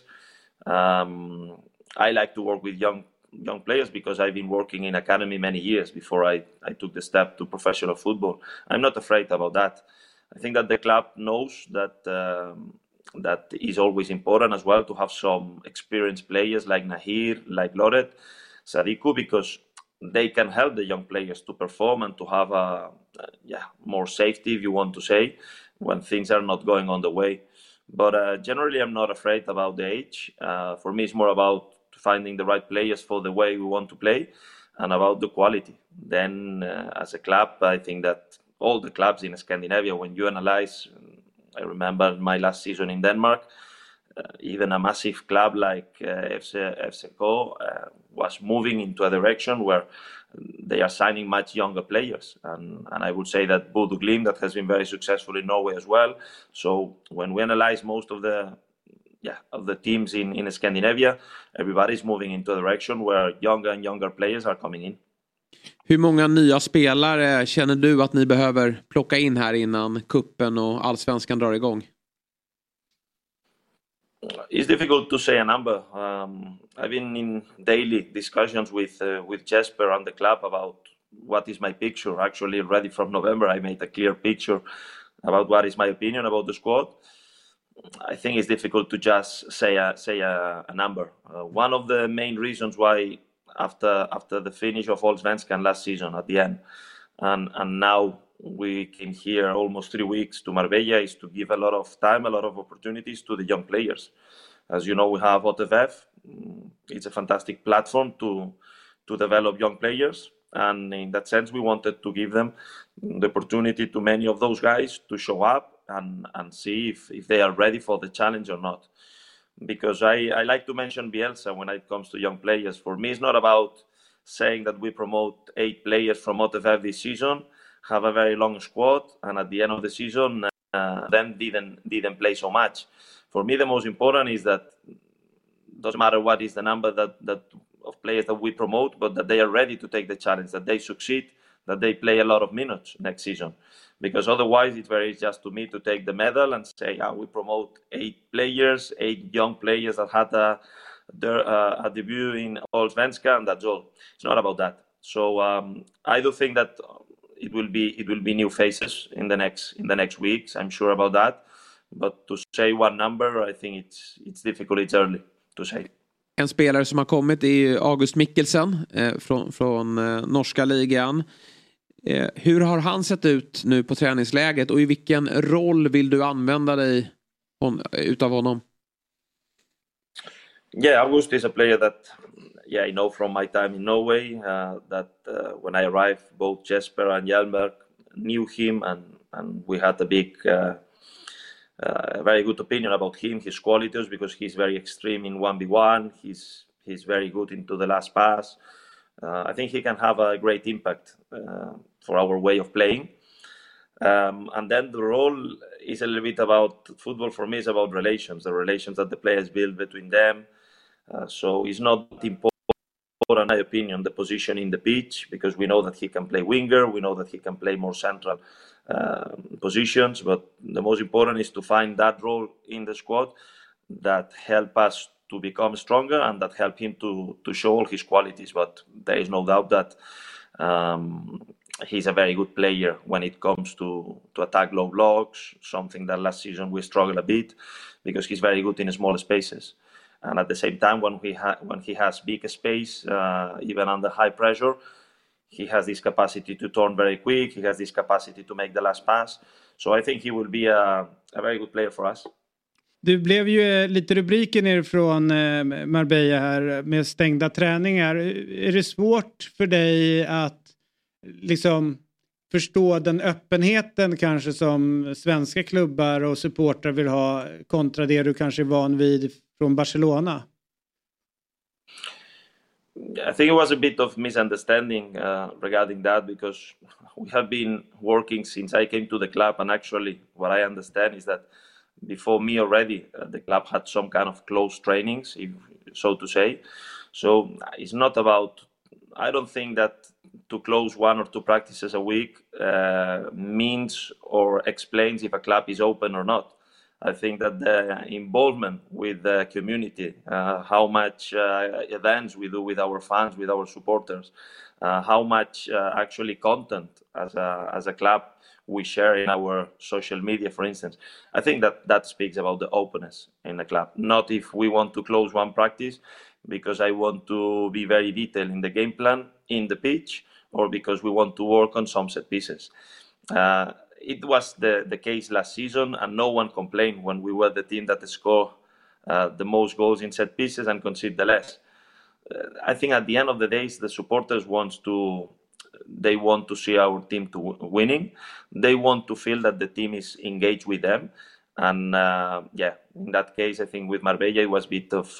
I like to work with young players because I've been working in academy many years before I took the step to professional football. I'm not afraid about that. I think that the club knows that is always important as well to have some experienced players like Nahir, like Loret, Sadiku, because they can help the young players to perform and to have more safety, if you want to say, when things are not going on the way. But generally, I'm not afraid about the age. For me, it's more about finding the right players for the way we want to play and about the quality. Then, as a club, I think that all the clubs in Scandinavia, when you analyze, I remember my last season in Denmark, even a massive club like FCK was moving into a direction where they are signing much younger players. And I would say that Bodø Glimt, that has been very successful in Norway as well. So when we analyze most of the teams in Scandinavia, everybody's moving into a direction where younger and younger players are coming in. Hur många nya spelare känner du att ni behöver plocka in här innan kuppen och allsvenskan drar igång? It's difficult to say a number. I've been in daily discussions with Jesper and the club about what is my picture. Actually, already from November, I made a clear picture about what is my opinion about the squad. I think it's difficult to just say a number. One of the main reasons why after the finish of Allsvenskan last season at the end, and now we came here almost 3 weeks to Marbella, is to give a lot of time, a lot of opportunities to the young players. As you know, we have OTVF. It's a fantastic platform to develop young players. And in that sense, we wanted to give them the opportunity to many of those guys to show up and see if they are ready for the challenge or not. Because I like to mention Bielsa when it comes to young players. For me, it's not about saying that we promote 8 players from OTFF this season, have a very long squad, and at the end of the season, then didn't play so much. For me, the most important is that doesn't matter what is the number that of players that we promote, but that they are ready to take the challenge, that they succeed, that they play a lot of minutes next season. Because otherwise, it's very just to me to take the medal and say, we promote 8 players, 8 young players that had a debut in Allsvenskan, and that's all. It's not about that. So I do think that it will be new faces in the next weeks. I'm sure about that. But to say one number, I think it's difficult. It's early to say. En spelare som har kommit är August Mikkelsen från norska ligan. Hur har han sett ut nu på träningsläget och i vilken roll vill du använda dig utav honom? Yeah, August is a player that I know from my time in Norway. When I arrived, both Jesper and Hjelmer knew him, and we had a big, very good opinion about him, his qualities, because he's very extreme in 1v1. He's very good into the last pass. I think he can have a great impact for our way of playing. And then the role is a little bit about football. For me, is about relations, the relations that the players build between them. So it's not important, in my opinion, the position in the pitch, because we know that he can play winger, we know that he can play more central positions, but the most important is to find that role in the squad that help us to become stronger and that help him to show all his qualities. But there is no doubt that he's a very good player when it comes to attack low blocks, something that last season we struggled a bit, because he's very good in small spaces. And at the same time, when he has big space, even under high pressure, he has this capacity to turn very quick. He has this capacity to make the last pass. So I think he will be a very good player for us. Det blev ju lite rubriker ner från Marbella här med stängda träningar. Är det svårt för dig att liksom förstå den öppenheten kanske som svenska klubbar och supportrar vill ha kontra det du kanske är van vid från Barcelona? I think it was a bit of misunderstanding regarding that, because we have been working since I came to the club, and actually what I understand is that before me already, the club had some kind of close trainings, so to say. So it's not about, I don't think that to close 1 or 2 practices a week means or explains if a club is open or not. I think that the involvement with the community, how much events we do with our fans, with our supporters, how much actually content as a club we share in our social media, for instance. I think that speaks about the openness in the club. Not if we want to close 1 practice because I want to be very detailed in the game plan, in the pitch, or because we want to work on some set pieces. It was the case last season, and no one complained when we were the team that scored the most goals in set pieces and conceded the less. I think at the end of the day, the supporters want to see our team to winning. They want to feel that the team is engaged with them. And in that case, I think with Marbella, it was a bit of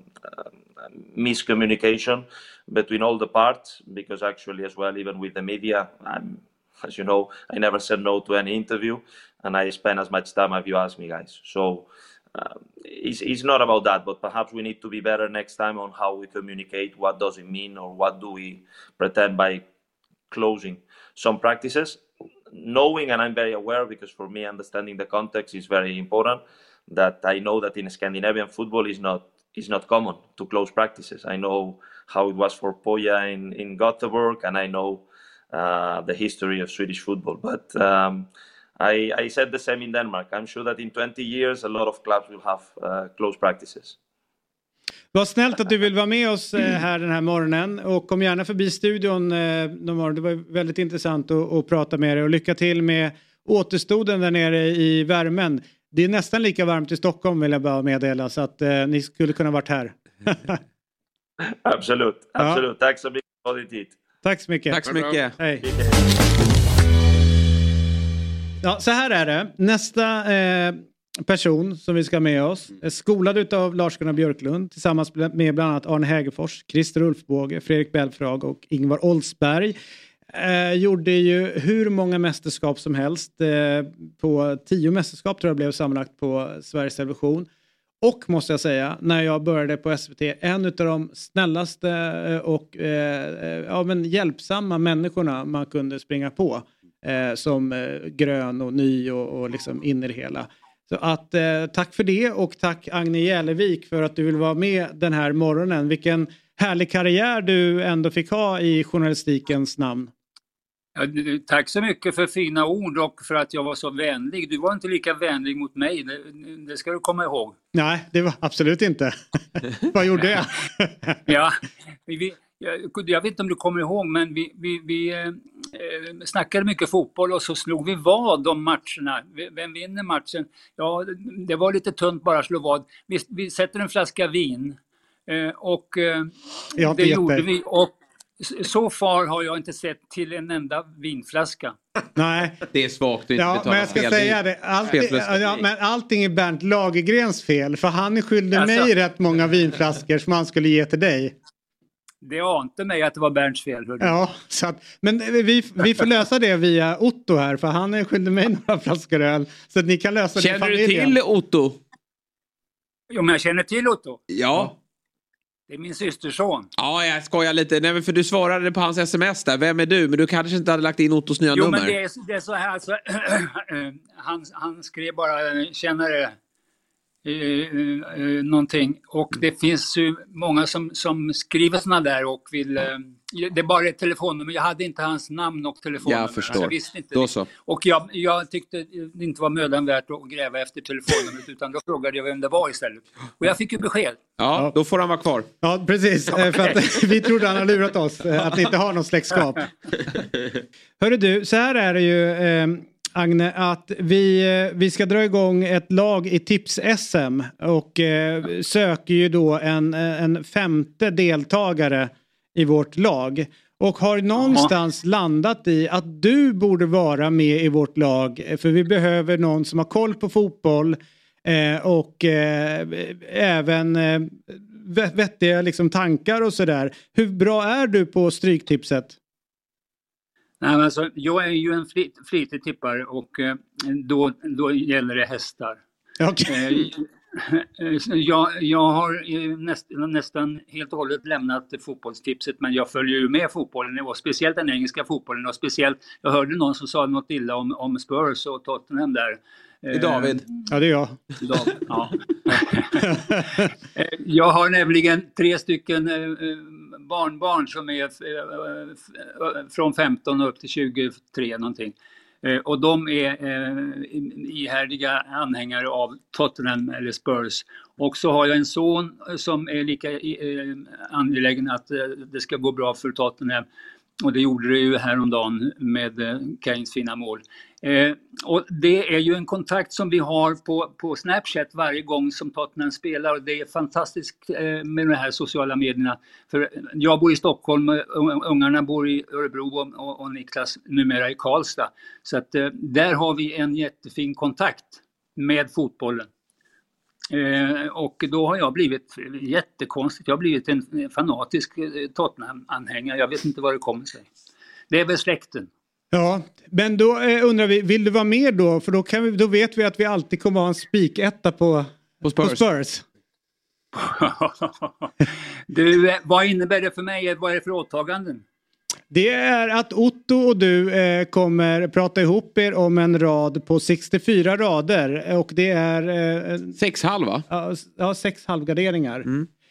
miscommunication between all the parts, because actually as well, even with the media, as you know, I never said no to any interview, and I spend as much time as you ask me, guys. So it's not about that, but perhaps we need to be better next time on how we communicate, what does it mean, or what do we pretend by closing some practices. Knowing, and I'm very aware, because for me understanding the context is very important, that I know that in Scandinavian football is not common to close practices. I know how it was for Poja in Gothenburg, and I know the history of Swedish football. But I said the same in Denmark. I'm sure that in 20 years a lot of clubs will have close practices. Vad snällt att du vill vara med oss här den här morgonen, och kom gärna förbi studion någon morgon. Det var väldigt intressant att prata med dig, och lycka till med återstoden där nere i värmen. Det är nästan lika varmt i Stockholm, vill jag bara meddela, så att ni skulle kunna varit här. Absolut. Ja. Tack så mycket för din tid. Tack så mycket. Tack så mycket. Hej. Ja, så här är det. Nästa person som vi ska ha med oss är skolad utav Lars-Gunnar Björklund tillsammans med bland annat Arne Hägerfors, Christer Ulfbåge, Fredrik Belfrage och Ingvar Oldsberg. Gjorde ju hur många mästerskap som helst. På 10 mästerskap tror jag blev sammanlagt på Sveriges Television. Och måste jag säga, när jag började på SVT, en av de snällaste och hjälpsamma människorna man kunde springa på. Som grön och ny och liksom in i det hela. Så att tack för det, och tack Agne Jälevik för att du vill vara med den här morgonen. Vilken härlig karriär du ändå fick ha i journalistikens namn. Ja, tack så mycket för fina ord och för att jag var så vänlig. Du var inte lika vänlig mot mig, det ska du komma ihåg. Nej, det var absolut inte. Vad gjorde jag? Ja, jag vet inte om du kommer ihåg, men vi snackade mycket fotboll och så slog vi vad om matcherna. Vem vinner matchen? Ja, det var lite tunt bara att slå vad. Vi sätter en flaska vin och det gjorde vi. Och så far har jag inte sett till en enda vinflaska. Nej. Det är svagt att inte betala men jag ska säga det. Men allting är Bernt Lagergrens fel. För han är skyldig mig rätt många vinflaskor som han skulle ge till dig. Det ante mig att det var Bernts fel. Ja, så att, men vi får lösa det via Otto här. För han är skyldig mig några flaskor öl. Så att ni kan lösa det i familjen. Känner du till Otto? Jo, men jag känner till Otto. Ja. Det är min systerson. Ja, jag skojar lite. Nej, men för du svarade på hans sms där. Vem är du? Men du kanske inte hade lagt in Ottos nya nummer. Jo, men det är så här. Alltså, han skrev bara tjänare någonting. Och det finns ju många som skriver såna där och vill... det är bara ett telefonnummer. Jag hade inte hans namn och telefonnummer. Jag förstår. Jag visste inte då det. Så. Och jag tyckte det inte var mödan värt att gräva efter telefonnumret, utan då frågade jag vem det var istället. Och jag fick ju besked. Ja, då får han vara kvar. Ja, precis. För att vi trodde han har lurat oss. Att ni inte har någon släktskap. Hörru du, så här är det ju... Agne, att vi ska dra igång ett lag i tips-SM och söker ju då en femte deltagare i vårt lag. Och har någonstans landat i att du borde vara med i vårt lag, för vi behöver någon som har koll på fotboll och även vettiga liksom tankar och sådär. Hur bra är du på stryktipset? Nej, men alltså, jag är ju en flitig tippare och då gäller det hästar. Okay. Jag har nästan helt och hållet lämnat fotbollstipset, men jag följer ju med fotbollen och speciellt den engelska fotbollen, och speciellt, jag hörde någon som sa något illa om Spurs och Tottenham där. David. Ja, det är jag. David, ja. Jag har nämligen 3 stycken barnbarn som är från 15 upp till 23 någonting. Och de är ihärdiga anhängare av Tottenham eller Spurs. Och så har jag en son som är lika angelägen att det ska gå bra för Tottenham. Och det gjorde det ju häromdagen med Kanes fina mål. Och det är ju en kontakt som vi har på Snapchat varje gång som Tottenham spelar. Och det är fantastiskt med de här sociala medierna. För jag bor i Stockholm, ungarna bor i Örebro och Niklas numera i Karlstad. Så att där har vi en jättefin kontakt med fotbollen. Och då har jag blivit jättekonstigt. Jag har blivit en fanatisk Tottenham-anhängare. Jag vet inte vad det kommer sig. Det är väl släkten. Ja, men då undrar vi, vill du vara med då? För då vet vi att vi alltid kommer ha en spiketta på Spurs. Du, vad innebär det för mig? Vad är det för åtaganden? Det är att Otto och du kommer prata ihop er om en rad på 64 rader. Och det är... 6 halva? Ja, 6 halvgarderingar.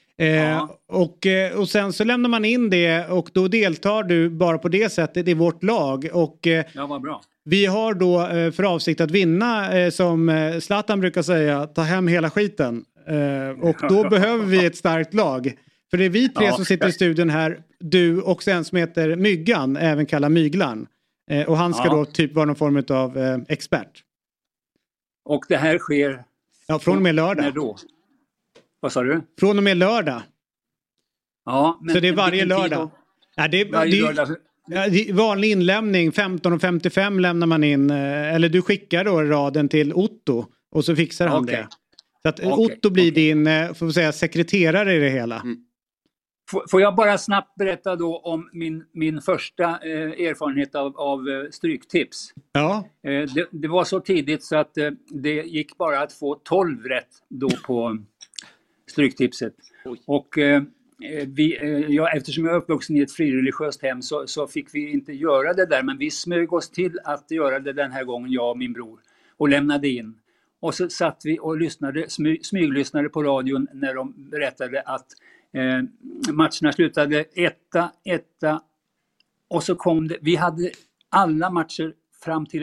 Och sen så lämnar man in det och då deltar du bara på det sättet i vårt lag. Och ja, vad bra. Vi har då för avsikt att vinna, som Zlatan brukar säga, ta hem hela skiten. Och då behöver vi ett starkt lag. För det är vi 3 som sitter i studion här, du och en som heter Myggan, även kallad Myglan. Och han ska då typ vara någon form av expert. Och det här sker... Ja, från och med lördag. När då? Vad sa du? Från och med lördag. Ja, men så det är varje lördag. Ja, varje lördag. Vanlig inlämning, 15:55 lämnar man in. Eller du skickar då raden till Otto och så fixar han det. Så att Otto blir din, får vi säga, sekreterare i det hela. Får jag bara snabbt berätta då om min första erfarenhet av stryktips. Ja. Det var så tidigt så att det gick bara att få 12 rätt då på stryktipset. Och eftersom jag är uppvuxen i ett frireligiöst hem så fick vi inte göra det där. Men vi smög oss till att göra det den här gången, jag och min bror. Och lämnade in. Och så satt vi och smyglyssnade på radion när de berättade att matcherna slutade 1-1 och så kom det, vi hade alla matcher fram till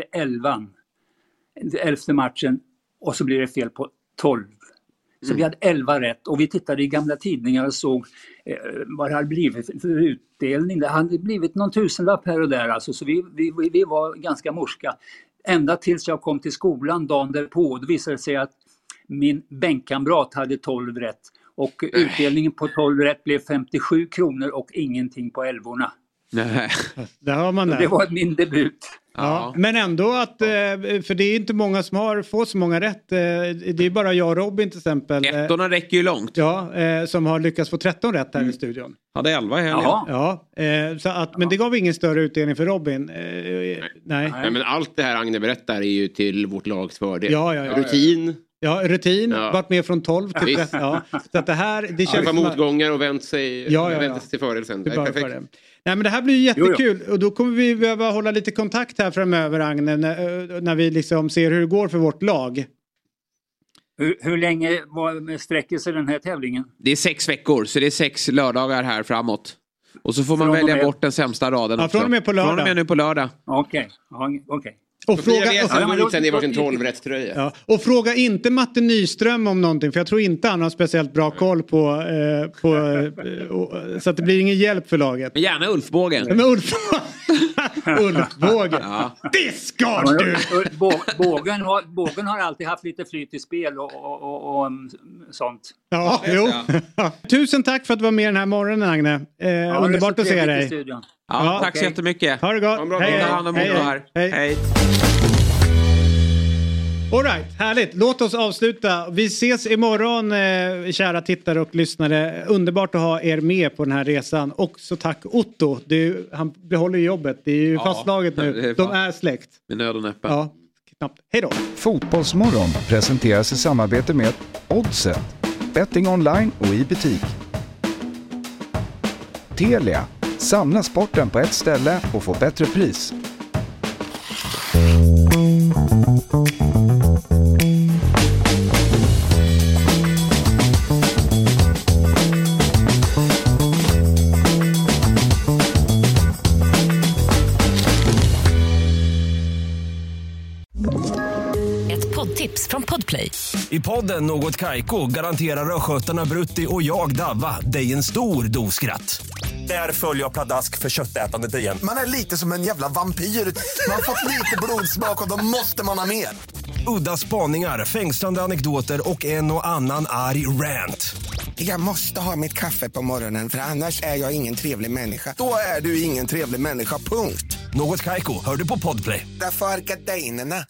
11:e matchen och så blev det fel på 12. Så vi hade 11 rätt och vi tittade i gamla tidningar och såg vad det hade blivit för utdelning. Det hade blivit någon tusenlapp här och där alltså, så vi var ganska morska. Ända tills jag kom till skolan dagen därpå, då visade det sig att min bänkkamrat hade 12 rätt. Och utdelningen på 12 rätt blev 57 kronor och ingenting på 11:orna. Nej. Där har man det. Det var min debut. Ja. Men ändå att, för det är inte många som har fått så många rätt. Det är bara jag och Robin till exempel. 13 räcker ju långt. Ja, som har lyckats få 13 rätt här i studion. Hade 11 här. Ja, så att, men det gav ingen större utdelning för Robin. Nej, men allt det här Agne berättar är ju till vårt lags fördel. Ja. Rutin. Ja, rutin. Varit med från 12 till 13. Ja. Så att det här... Det känns motgångar och vänt sig till fördel sen. Det är perfekt. Nej, men det här blir ju jättekul. Och då kommer vi behöva hålla lite kontakt här framöver, Agne. När vi liksom ser hur det går för vårt lag. Hur länge sträcker sig den här tävlingen? Det är 6 veckor, så det är 6 lördagar här framåt. Och så får man välja bort den sämsta raden också. Från och med på lördag. Från och med nu på lördag. Okej. Och fråga och fråga inte Matte Nyström om någonting, för jag tror inte han har speciellt bra koll på så att det blir ingen hjälp för laget. Men gärna Ulfbågen. Men Ulfbågen. Det ska du. Bågen har alltid haft lite flyt i spel och sånt. Ja, jo. Tusen tack för att du var med den här morgonen, Agne. Underbart att se dig. Ja, tack så jättemycket. Ha det gott. Hej. All right, härligt. Låt oss avsluta. Vi ses imorgon, kära tittare och lyssnare. Underbart att ha er med på den här resan. Och så tack Otto. Han behåller jobbet. Det är ju fastslaget nu. De är släkt. Med nöd och näppe. Ja, knappt. Hej då. Fotbollsmorgon presenteras i samarbete med Oddset. Betting online och i butik. Telia. Samla sporten på ett ställe och få bättre pris. Ett poddtips från Podplay. I podden Något Kaiko garanterar röskötarna Brutti och jag Davva dig en stor doskratt. Där följer jag pladask för köttätandet igen. Man är lite som en jävla vampyr. Man har fått lite blodsmak och då måste man ha mer. Udda spaningar, fängslande anekdoter och en och annan arg rant. Jag måste ha mitt kaffe på morgonen för annars är jag ingen trevlig människa. Då är du ingen trevlig människa, punkt. Något Kaiko, hör du på Podplay. Därför är gardinerna.